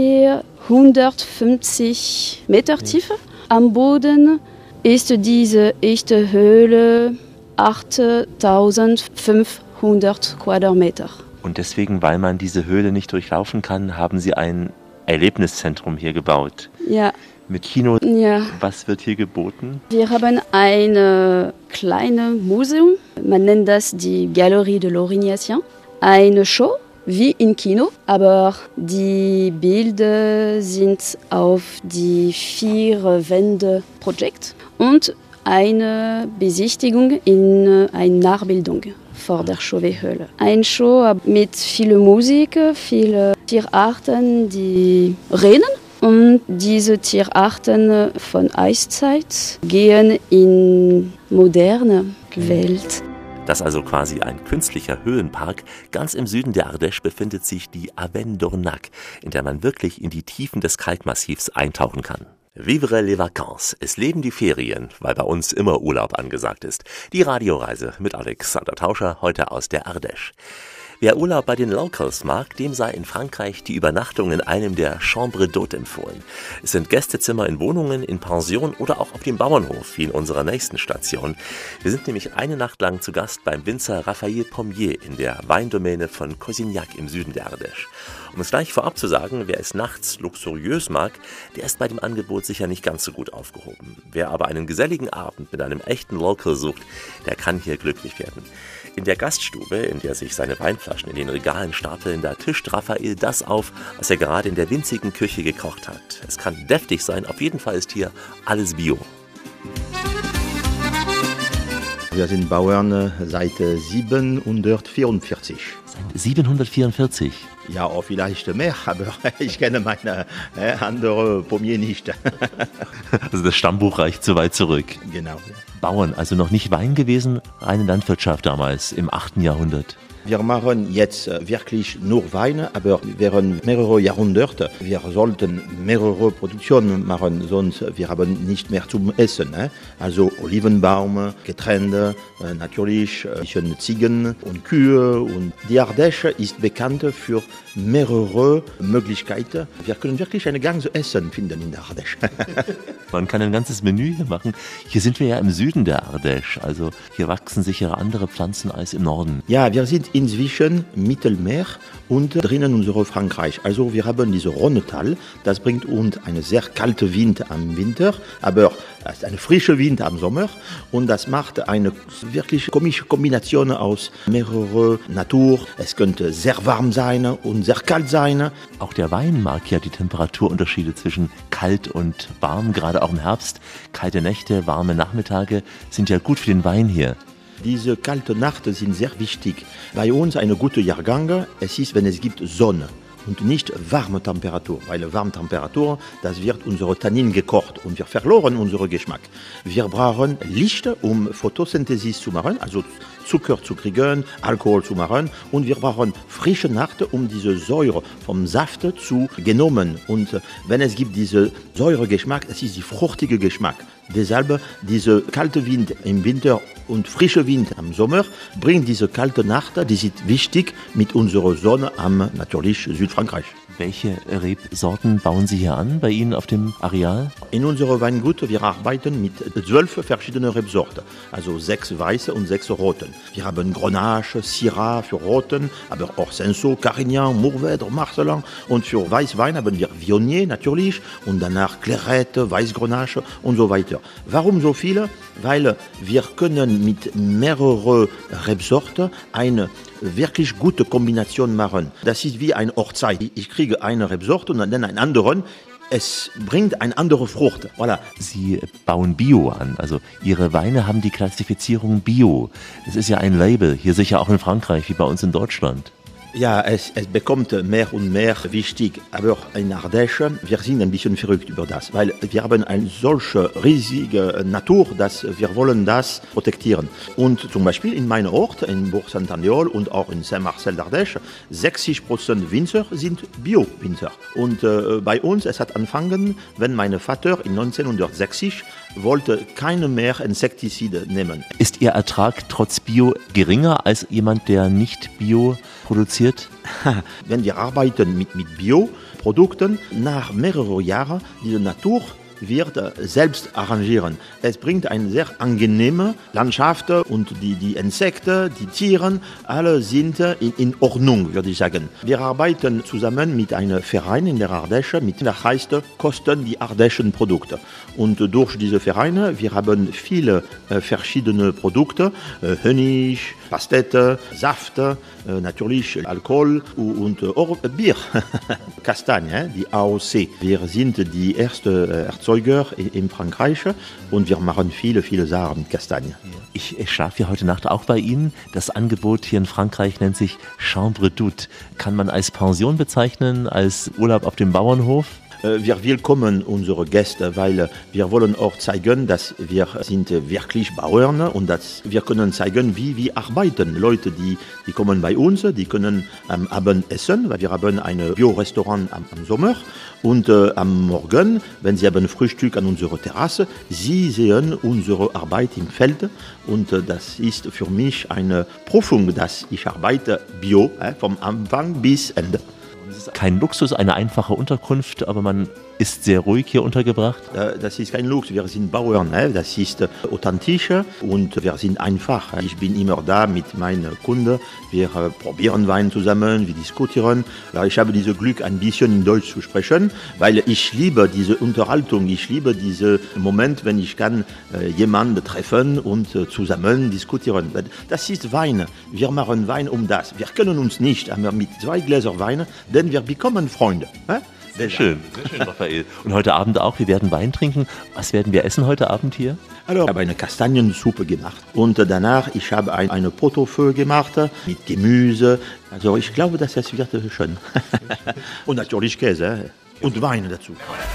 S6: 450 Meter Tiefe. Am Boden ist diese echte Höhle 8500 Quadratmeter.
S3: Und deswegen, weil man diese Höhle nicht durchlaufen kann, haben Sie ein Erlebniszentrum hier gebaut.
S6: Ja.
S3: Mit Kino.
S6: Ja.
S3: Was wird hier geboten?
S6: Wir haben ein kleines Museum. Man nennt das die Galerie de l'Aurignacien. Eine Show wie im Kino, aber die Bilder sind auf die 4 Wände Projekt und eine Besichtigung in eine Nachbildung vor der Chauvet-Höhle. Eine Show mit viel Musik, viele Tierarten, die reden. Und diese Tierarten von Eiszeit gehen in moderne Welt.
S3: Das ist also quasi ein künstlicher Höhenpark. Ganz im Süden der Ardèche befindet sich die Avenne d'Ornac, in der man wirklich in die Tiefen des Kalkmassivs eintauchen kann. Vivre les vacances. Es leben die Ferien, weil bei uns immer Urlaub angesagt ist. Die Radioreise mit Alexander Tauscher, heute aus der Ardèche. Wer Urlaub bei den Locals mag, dem sei in Frankreich die Übernachtung in einem der Chambres d'Hôte empfohlen. Es sind Gästezimmer in Wohnungen, in Pensionen oder auch auf dem Bauernhof, wie in unserer nächsten Station. Wir sind nämlich eine Nacht lang zu Gast beim Winzer Raphael Pommier in der Weindomäne von Cosignac im Süden der Ardèche. Um es gleich vorab zu sagen, wer es nachts luxuriös mag, der ist bei dem Angebot sicher nicht ganz so gut aufgehoben. Wer aber einen geselligen Abend mit einem echten Local sucht, der kann hier glücklich werden. In der Gaststube, in der sich seine Weinflaschen in den Regalen stapeln, da tischt Raphael das auf, was er gerade in der winzigen Küche gekocht hat. Es kann deftig sein, auf jeden Fall ist hier alles Bio.
S9: Wir sind Bauern seit 744.
S3: Seit 744?
S9: Ja, auch vielleicht mehr, aber ich kenne meine andere Pommier nicht.
S3: Also das Stammbuch reicht so weit zurück.
S9: Genau.
S3: Bauern, also noch nicht Wein gewesen, reine Landwirtschaft damals im 8. Jahrhundert.
S9: Wir machen jetzt wirklich nur Wein, aber während mehrere Jahrhunderte. Wir sollten mehrere Produktionen machen, sonst wir haben nicht mehr zum Essen. Also Olivenbaum, Getreide, natürlich Ziegen und Kühe. Und die Ardèche ist bekannt für mehrere Möglichkeiten. Wir können wirklich ein ganzes Essen finden in der Ardèche.
S3: Man kann ein ganzes Menü hier machen. Hier sind wir ja im Süden der Ardèche, also hier wachsen sicher andere Pflanzen als im Norden.
S9: Ja, wir sind inzwischen Mittelmeer und drinnen unsere Frankreich. Also wir haben diese Rhônetal, das bringt uns einen sehr kalten Wind am Winter, aber es ist eine frische Wind am Sommer und das macht eine wirklich komische Kombination aus mehrere Natur. Es könnte sehr warm sein und sehr kalt sein.
S3: Auch der Wein mag ja die Temperaturunterschiede zwischen kalt und warm, gerade auch im Herbst. Kalte Nächte, warme Nachmittage sind ja gut für den Wein hier.
S9: Diese kalten Nächte sind sehr wichtig. Bei uns eine gute Jahrgang, es ist, wenn es gibt Sonne. und nicht warme Temperatur, weil warme Temperatur, das wird unsere Tannin gekocht und wir verloren unseren Geschmack. Wir brauchen Licht, um Photosynthese zu machen, also Zucker zu kriegen, Alkohol zu machen und wir brauchen frische Nacht, um diese Säure vom Saft zu genommen. Und wenn es gibt diese Säuregeschmack, es ist der fruchtige Geschmack. Deshalb dieser kalte Wind im Winter und frische Wind am Sommer bringt diese kalte Nacht, die ist wichtig mit unserer Sonne am natürlich Südfrankreich.
S3: Welche Rebsorten bauen Sie hier an bei Ihnen auf dem Areal?
S9: In unserem Weingut, wir arbeiten mit 12 verschiedenen Rebsorten, also 6 weiße und 6 roten. Wir haben Grenache, Syrah für Roten, aber auch Cinsault, Carignan, Mourvèdre, Marcelin und für Weißwein haben wir Viognier natürlich und danach Clairette, Weißgrenache und so weiter. Warum so viele? Weil wir können mit mehreren Rebsorten eine wirklich gute Kombination machen. Das ist wie eine Hochzeit. Ich kriege eine Rebsorte und dann einen anderen. Es bringt eine andere Frucht. Voilà.
S3: Sie bauen Bio an, also Ihre Weine haben die Klassifizierung Bio. Das ist ja ein Label, hier sicher auch in Frankreich wie bei uns in Deutschland.
S9: Ja, es bekommt mehr und mehr wichtig, aber in Ardèche, wir sind ein bisschen verrückt über das, weil wir haben eine solche riesige Natur, dass wir wollen das protektieren. Und zum Beispiel in meinem Ort, in Bourg-Saint-Aniol und auch in Saint-Marcel d'Ardèche, 60% Winzer sind Bio-Winzer. Und bei uns, es hat angefangen, wenn mein Vater in 1960 wollte keine mehr Insektizide nehmen.
S3: Ist Ihr Ertrag trotz Bio geringer als jemand, der nicht Bio produziert?
S9: Wenn wir arbeiten mit Bioprodukten, nach mehreren Jahren, diese Natur wird selbst arrangieren. Es bringt eine sehr angenehme Landschaft und die Insekten, die Tiere, alle sind in Ordnung, würde ich sagen. Wir arbeiten zusammen mit einem Verein in der Ardèche, der heißt Kosten die ardäischen Produkte. Und durch diese Vereine, wir haben viele verschiedene Produkte, Honig, Pastete, Saft, natürlich Alkohol und Bier, Kastagne, die AOC. Wir sind die ersten Erzeuger in Frankreich und wir machen viele Sachen mit Kastanien.
S3: Ich schlafe ja heute Nacht auch bei Ihnen. Das Angebot hier in Frankreich nennt sich Chambre d'Hôte. Kann man als Pension bezeichnen, als Urlaub auf dem Bauernhof?
S9: Wir willkommen unsere Gäste, weil wir wollen auch zeigen, dass wir sind wirklich Bauern und dass wir können zeigen, wie wir arbeiten. Leute, die kommen bei uns, die können am Abend essen, weil wir haben ein Bio-Restaurant am Sommer und am Morgen, wenn sie haben Frühstück an unserer Terrasse, sie sehen unsere Arbeit im Feld und das ist für mich eine Prüfung, dass ich arbeite Bio, vom Anfang bis Ende.
S3: Kein Luxus, eine einfache Unterkunft, aber man ist sehr ruhig hier untergebracht.
S9: Das ist kein Luxus, wir sind Bauern, das ist authentisch und wir sind einfach. Ich bin immer da mit meinen Kunden, wir probieren Wein zusammen, wir diskutieren. Ich habe dieses Glück, ein bisschen in Deutsch zu sprechen, weil ich liebe diese Unterhaltung, ich liebe diesen Moment, wenn ich kann jemanden treffen und zusammen diskutieren. Das ist Wein, wir machen Wein das. Wir können uns nicht, aber mit 2 Gläser Wein, denn wir bekommen Freunde.
S3: Sehr schön, Raphael. Und heute Abend auch, wir werden Wein trinken. Was werden wir essen heute Abend hier?
S9: Also, ich habe eine Kastaniensuppe gemacht und danach ich habe eine Pot-au-feu gemacht mit Gemüse. Also ich glaube, dass es wird schön. Und natürlich Käse und Wein dazu.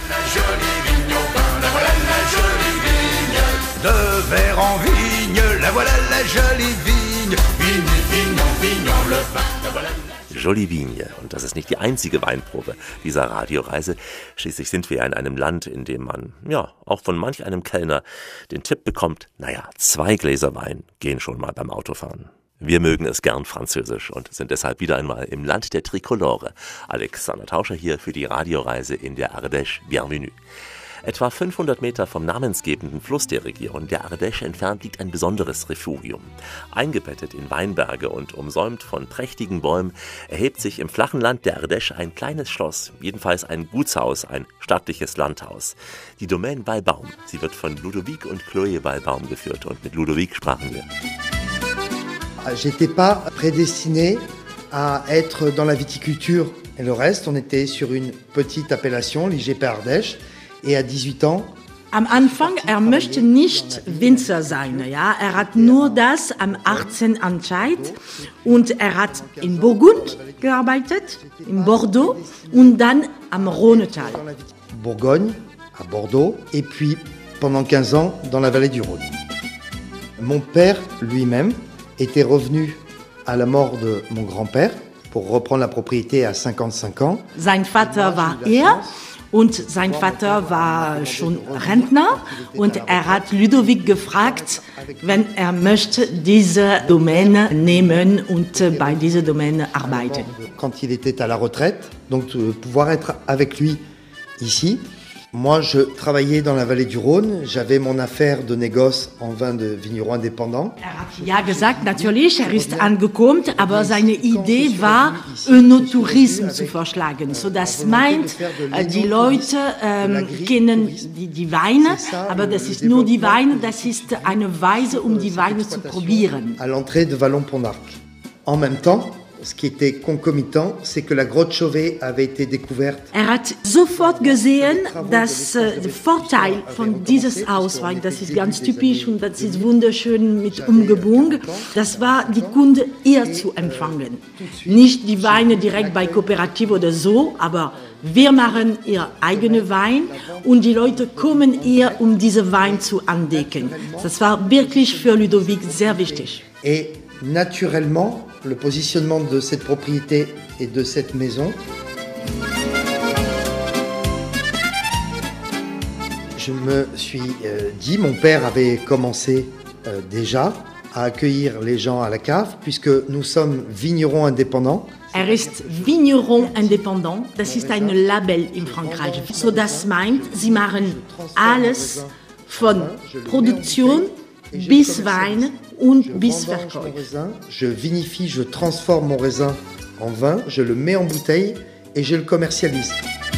S11: De verre en vigne, la voilà la jolie vigne. Vigne, vignon, vignon, le vin, la voilà.
S3: Jolie Vigne. Und das ist nicht die einzige Weinprobe dieser Radioreise. Schließlich sind wir ja in einem Land, in dem man, ja, auch von manch einem Kellner den Tipp bekommt, 2 Gläser Wein gehen schon mal beim Autofahren. Wir mögen es gern französisch und sind deshalb wieder einmal im Land der Trikolore. Alexander Tauscher hier für die Radioreise in der Ardèche. Bienvenue. Etwa 500 Meter vom namensgebenden Fluss der Region, der Ardèche, entfernt liegt ein besonderes Refugium. Eingebettet in Weinberge und umsäumt von prächtigen Bäumen erhebt sich im flachen Land der Ardèche ein kleines Schloss, jedenfalls ein Gutshaus, ein stattliches Landhaus. Die Domaine Walbaum. Sie wird von Ludovic und Chloé Walbaum geführt und mit Ludovic sprachen wir.
S10: J'étais pas prédestiné à être dans la viticulture et le reste. On était sur une petite appellation, l'IGP Ardèche. Et à 18 ans,
S4: Am Anfang, er möchte nicht Winzer sein. Ja? Er hat nur das am 18 entscheidet und er hat in Burgund gearbeitet, in Bordeaux und dann am Rhônetal.
S10: Bourgogne, à Bordeaux, et puis pendant 15 ans dans la vallée du Rhône. Mon père lui-même était revenu à la mort de mon grand-père pour reprendre la propriété à 55 ans.
S4: Sein Vater war und sein Vater war schon Rentner und er hat Ludovic gefragt, wenn er möchte diese Domäne nehmen und bei dieser Domäne arbeiten.
S10: Quand il était à la retraite, donc de pouvoir être avec lui ici. Moi, je travaillais dans la vallée du Rhône. J'avais mon affaire de négoce en vin de vignerons indépendants.
S4: Er hat ja gesagt, natürlich, er ist angekommen, aber seine Idee war, Önotourismus zu verschlagen. So, das meint, die Leute kennen die Weine, aber das ist nur die Weine, das ist eine Weise, die Weine zu probieren.
S10: À l'entrée de Vallon-Pont-d'Arc. En même temps, ce qui était concomitant, c'est que la grotte Chauvet avait été découverte.
S4: Er hat sofort gesehen, dass der Vorteil von dieses Haus war, das ist ganz typisch und das ist wunderschön mit Umgebung, das war die Kunde eher zu empfangen. Nicht die Weine direkt bei Kooperative oder so, aber wir machen ihr eigenen Wein und die Leute kommen eher, diese Wein zu entdecken. Das war wirklich für Ludovic sehr wichtig.
S10: Et naturellement, le positionnement de cette propriété et de cette maison, je me suis dit, mon père avait commencé déjà à accueillir les gens à la cave, puisque nous sommes vignerons indépendants.
S4: Er ist Vigneron indépendant, das ist ein Label in Frankreich. So, das meint, sie machen alles von Produktion bis Wein und bis Verkauf.
S10: Je vinifie, je transforme mon raisin en vin, je le mets en bouteille et je le commercialise.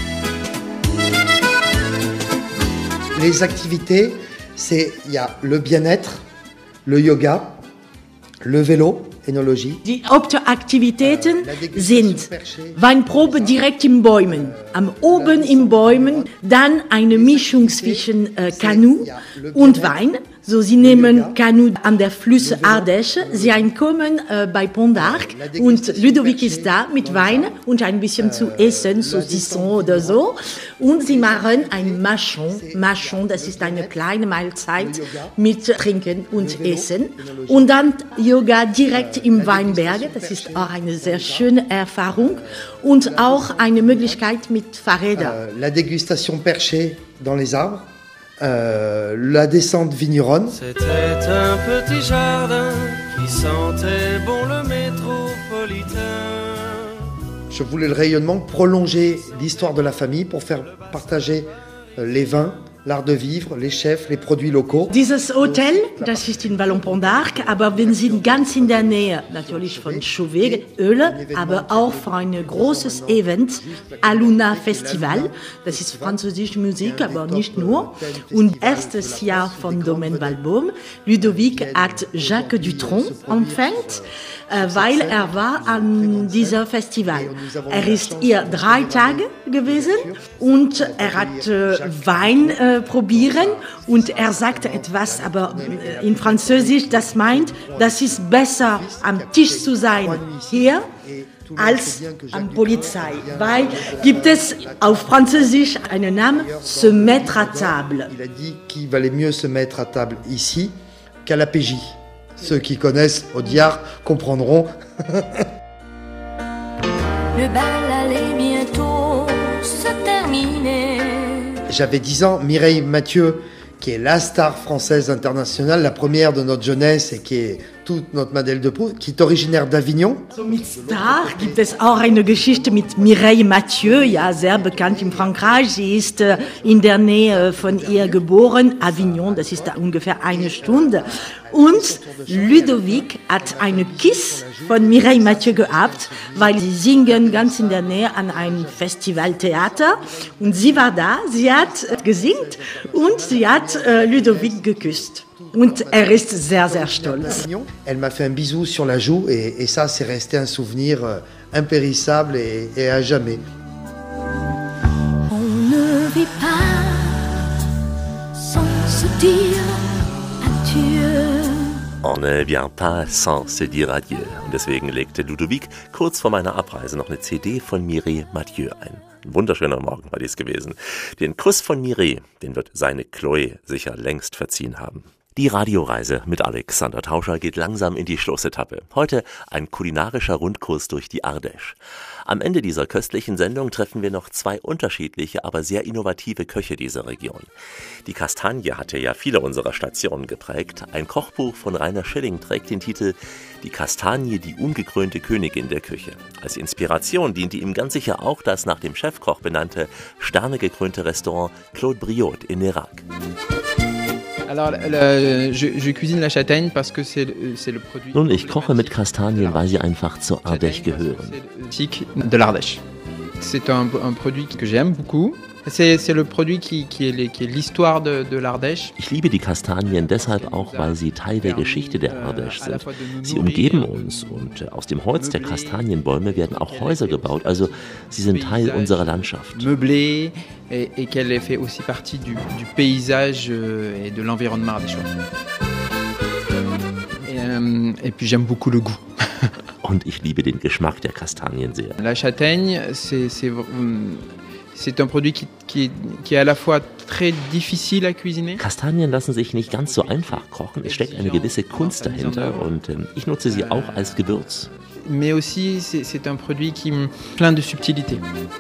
S10: Les activités, il y a le bien-être, le yoga, le vélo, Enologie.
S4: Die Hauptaktivitäten sind Weinprobe direkt in Bäumen, am oben in Bäumen, dann eine Mischung zwischen Kanu und Wein. So, sie nehmen Kanu an der Flüsse Ardèche, sie kommen bei Pont-d'Arc und Ludovic ist da mit Wein und ein bisschen zu essen, Saucisson oder so. Und sie machen ein Machon, das ist eine kleine Mahlzeit mit Trinken und Essen. Und dann Yoga direkt im Weinberge, das ist auch eine sehr schöne Erfahrung und auch eine Möglichkeit mit Fahrrädern.
S10: La dégustation perchée dans les arbres. La descente vigneronne.
S20: C'était un petit jardin qui sentait bon le métropolitain.
S10: Je voulais le rayonnement, prolonger l'histoire de la famille pour faire partager les vins, l'art de vivre, les chefs, les produits locaux.
S4: Dieses Hotel, das ist in Vallon-Pont-d'Arc, aber wir sind ganz in der Nähe, natürlich von Chauvet, Öle, aber auch für ein großes Event, Aluna Festival. Das ist französische Musik, aber nicht nur. Und erstes Jahr von Domaine Valbom. Ludovic hat Jacques Dutronc empfängt, weil er war an diesem Festival. Er ist hier 3 Tage gewesen und er hat Wein probieren und er sagte etwas, aber in Französisch, das meint, das ist besser am Tisch zu sein hier als am Polizei, weil gibt es auf Französisch einen Namen, se mettre à table.
S10: Il a dit qu'il valait mieux se mettre à table ici qu'à la PJ. Ceux qui connaissent Audiard comprendront.
S17: Le bal allait bientôt se terminer.
S10: J'avais 10 ans, Mireille Mathieu, qui est la star française internationale, la première de notre jeunesse et qui est toute notre Madeleine de Proust, qui est originaire d'Avignon.
S4: So, mit Star gibt es auch eine Geschichte mit Mireille Mathieu, ja, sehr bekannt in Frankreich. Sie ist in der Nähe von ihr geboren, Avignon, das ist da ungefähr 1 Stunde. Und Ludovic hat eine Kiss von Mireille Mathieu gehabt, weil sie singen ganz in der Nähe an einem Festivaltheater. Und sie war da, sie hat gesingt und sie hat Ludovic geküsst. Und er ist sehr, sehr stolz.
S10: Elle m'a fait un bisou sur la joue et ça, c'est resté un souvenir impérissable et à jamais.
S17: On ne vit pas se dire adieu.
S3: On ne vient pas sans se dire adieu. Und deswegen legte Ludovic kurz vor meiner Abreise noch eine CD von Mireille Mathieu ein. Ein wunderschöner Morgen war dies gewesen. Den Kuss von Mireille, den wird seine Chloé sicher längst verziehen haben. Die Radioreise mit Alexander Tauscher geht langsam in die Schlussetappe. Heute ein kulinarischer Rundkurs durch die Ardèche. Am Ende dieser köstlichen Sendung treffen wir noch zwei unterschiedliche, aber sehr innovative Köche dieser Region. Die Kastanie hatte ja viele unserer Stationen geprägt. Ein Kochbuch von Rainer Schilling trägt den Titel »Die Kastanie, die ungekrönte Königin der Küche«. Als Inspiration diente ihm ganz sicher auch das nach dem Chefkoch benannte, sternegekrönte Restaurant Claude Briot in Nérac. Nun, ich koche mit Kastanien, weil sie einfach zur Ardèche gehören.
S7: C'est un produit que j'aime beaucoup. C'est le produit qui est l'histoire de l'Ardèche.
S3: Ich liebe die Kastanien deshalb auch, weil sie Teil der Geschichte der Ardèche sind. Sie umgeben uns und aus dem Holz der Kastanienbäume werden auch Häuser gebaut, also sie sind Teil unserer Landschaft.
S7: Meublé et qu'elle fait aussi partie du paysage et de l'environnement ardéchois. Et puis j'aime beaucoup le goût.
S3: Und ich liebe den Geschmack der Kastanien sehr.
S7: La châtaigne, c'est un produit qui est à la fois très difficile à cuisiner.
S3: Kastanien lassen sich nicht ganz so einfach kochen. Es steckt eine gewisse Kunst dahinter und ich nutze sie auch als Gewürz.
S7: Mais aussi, c'est un produit qui plein de subtilité.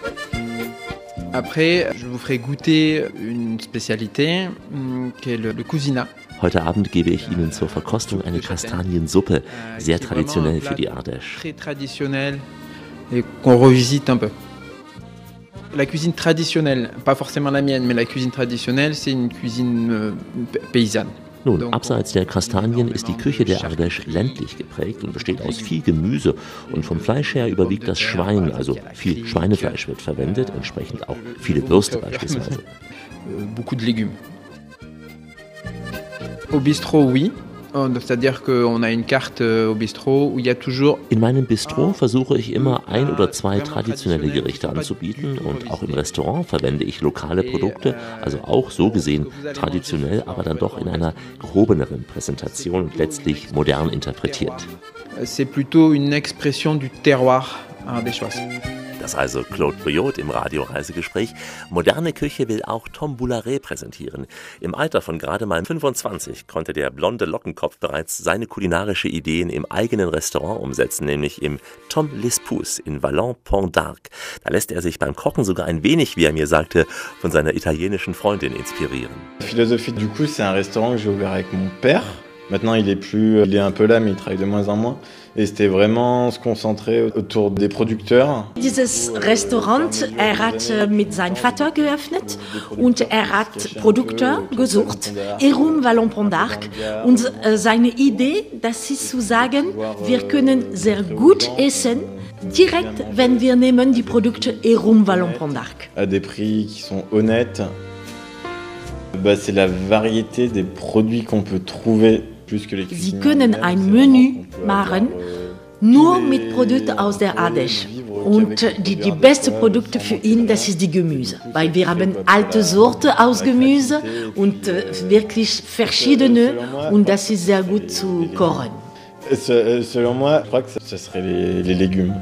S7: Après, je vous ferai goûter une spécialité qui est le cousinat.
S3: Heute Abend gebe ich Ihnen zur Verkostung eine Kastaniensuppe, sehr traditionell für die Ardèche.
S7: Très traditionnel et qu'on revisite un peu. La cuisine traditionnelle, pas forcément la mienne, mais la cuisine traditionnelle, c'est une cuisine paysanne.
S3: Nun, abseits der Kastanien ist die Küche der Ardèche ländlich geprägt und besteht aus viel Gemüse. Und vom Fleisch her überwiegt das Schwein, also viel Schweinefleisch wird verwendet, entsprechend auch viele Würste beispielsweise.
S7: Beaucoup de légumes. Au bistrot, oui. C'est-à-dire qu'on a une carte au bistrot où il y a toujours...
S3: In meinem Bistro versuche ich immer 1 oder 2 traditionelle Gerichte anzubieten und auch im Restaurant verwende ich lokale Produkte, also auch so gesehen traditionell, aber dann doch in einer gehobeneren Präsentation und letztlich modern interpretiert.
S7: C'est plutôt une expression du terroir ardéchois.
S3: Das also Claude Briot im Radioreisegespräch. Moderne Küche will auch Tom Boularet präsentieren. Im Alter von gerade mal 25 konnte der blonde Lockenkopf bereits seine kulinarische Ideen im eigenen Restaurant umsetzen, nämlich im Tom L'Espouse in Vallon-Pont d'Arc. Da lässt er sich beim Kochen sogar ein wenig, wie er mir sagte, von seiner italienischen Freundin inspirieren.
S21: La philosophie du coup, c'est un restaurant que j'ai ouvert avec mon père. Maintenant, il est un peu là, mais il travaille de moins en moins. Et c'était vraiment se concentrer autour des producteurs.
S4: Dieses Restaurant, hat mit seinem Vater geöffnet und hat Produkte gesucht, herum Vallon-Pont d'Arc. Und seine Idee, das ist zu sagen, wir können sehr gut essen, direkt, wenn wir nehmen die Produkte herum Vallon-Pont d'Arc.
S21: À des prix qui sont honnêtes. C'est la variété des produits qu'on peut trouver.
S4: Sie können ein Menü machen, nur mit Produkten aus der Ardèche. Und die besten Produkte für ihn, das ist die Gemüse. Weil wir haben alte Sorten aus Gemüse und wirklich verschiedene und das ist sehr gut zu kochen.
S21: Selon moi, je crois que ce serait les légumes.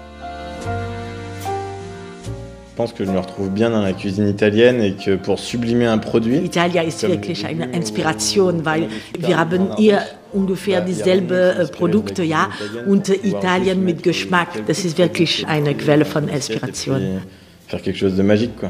S21: Je pense que je me retrouve bien dans la cuisine italienne et que pour sublimer un produit...
S4: Italia ist wirklich eine Inspiration, weil wir haben hier ungefähr dieselben Produkte, ja, und Italien mit Geschmack, das ist wirklich eine Quelle von Inspiration.
S21: Faire quelque chose de magique, quoi.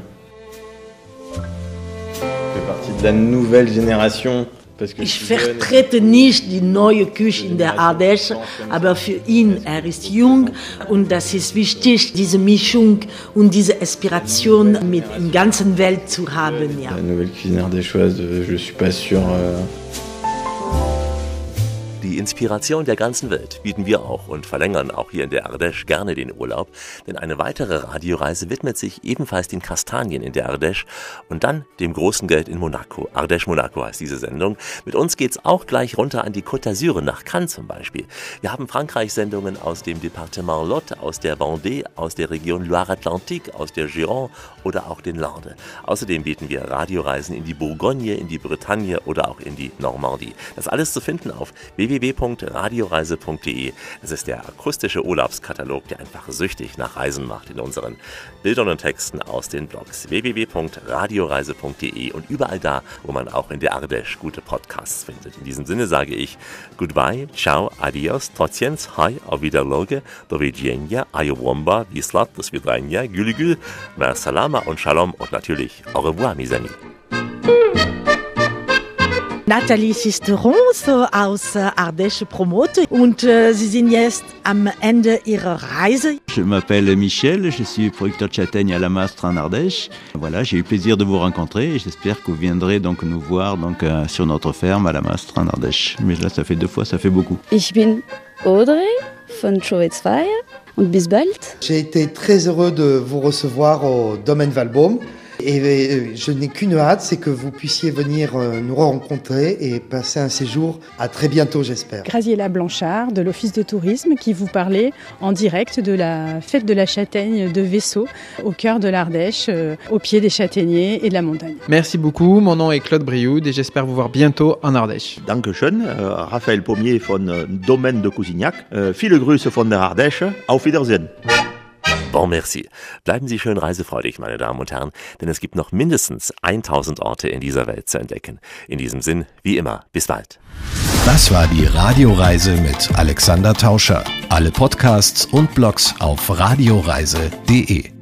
S21: Je fais partie de la nouvelle génération.
S4: Ich vertrete nicht die neue Küche in der Ardèche, aber für ihn, er ist jung und das ist wichtig, diese Mischung und diese Inspiration mit der ganzen Welt zu haben. Ja.
S21: La nouvelle cuisine ardéchoise, je suis pas sûr.
S3: Die Inspiration der ganzen Welt bieten wir auch und verlängern auch hier in der Ardèche gerne den Urlaub, denn eine weitere Radioreise widmet sich ebenfalls den Kastanien in der Ardèche und dann dem großen Geld in Monaco. Ardèche Monaco heißt diese Sendung. Mit uns geht's auch gleich runter an die Côte d'Azur, nach Cannes zum Beispiel. Wir haben Frankreich-Sendungen aus dem Departement Lot, aus der Vendée, aus der Region Loire-Atlantique, aus der Gironde oder auch den Landes. Außerdem bieten wir Radioreisen in die Bourgogne, in die Bretagne oder auch in die Normandie. Das alles zu finden auf www.radioreise.de. Das ist der akustische Urlaubskatalog, der einfach süchtig nach Reisen macht in unseren Bildern und Texten aus den Blogs. www.radioreise.de und überall da, wo man auch in der Ardèche gute Podcasts findet. In diesem Sinne sage ich Goodbye, ciao, adios, tociens, hi, auf Wiederloge, do widzenia, ayowomba, wislat, do svidania, gülügül, mer salama und shalom und natürlich au revoir, mes amis.
S4: Nathalie Sisteron aus Ardèche Promote und Sie sind jetzt am Ende Ihrer Reise.
S5: Je m'appelle Michel, je suis producteur de châtaignes à la Mastre en Ardèche. Voilà, j'ai eu plaisir de vous rencontrer et j'espère que vous viendrez donc nous voir donc sur notre ferme à la Mastre en Ardèche. Mais là, ça fait 2 fois, ça fait beaucoup.
S6: Ich bin Audrey von Schowitz-Feier und bis bald.
S10: J'ai été très heureux de vous recevoir au Domaine Valbaume. Et je n'ai qu'une hâte, c'est que vous puissiez venir nous rencontrer et passer un séjour. À très bientôt, j'espère.
S8: Graziella Blanchard de l'Office de tourisme qui vous parlait en direct de la fête de la châtaigne de Vaisseau au cœur de l'Ardèche, au pied des châtaigniers et de la montagne.
S7: Merci beaucoup, mon nom est Claude Brioude et j'espère vous voir bientôt en Ardèche.
S9: Dankeschön, Raphaël Pommier von Domaine de Cousignac. Viele Grüße von der Ardèche. Auf Wiedersehen.
S3: Bon merci. Bleiben Sie schön reisefreudig, meine Damen und Herren, denn es gibt noch mindestens 1000 Orte in dieser Welt zu entdecken. In diesem Sinn, wie immer, bis bald.
S2: Das war die Radioreise mit Alexander Tauscher. Alle Podcasts und Blogs auf radioreise.de.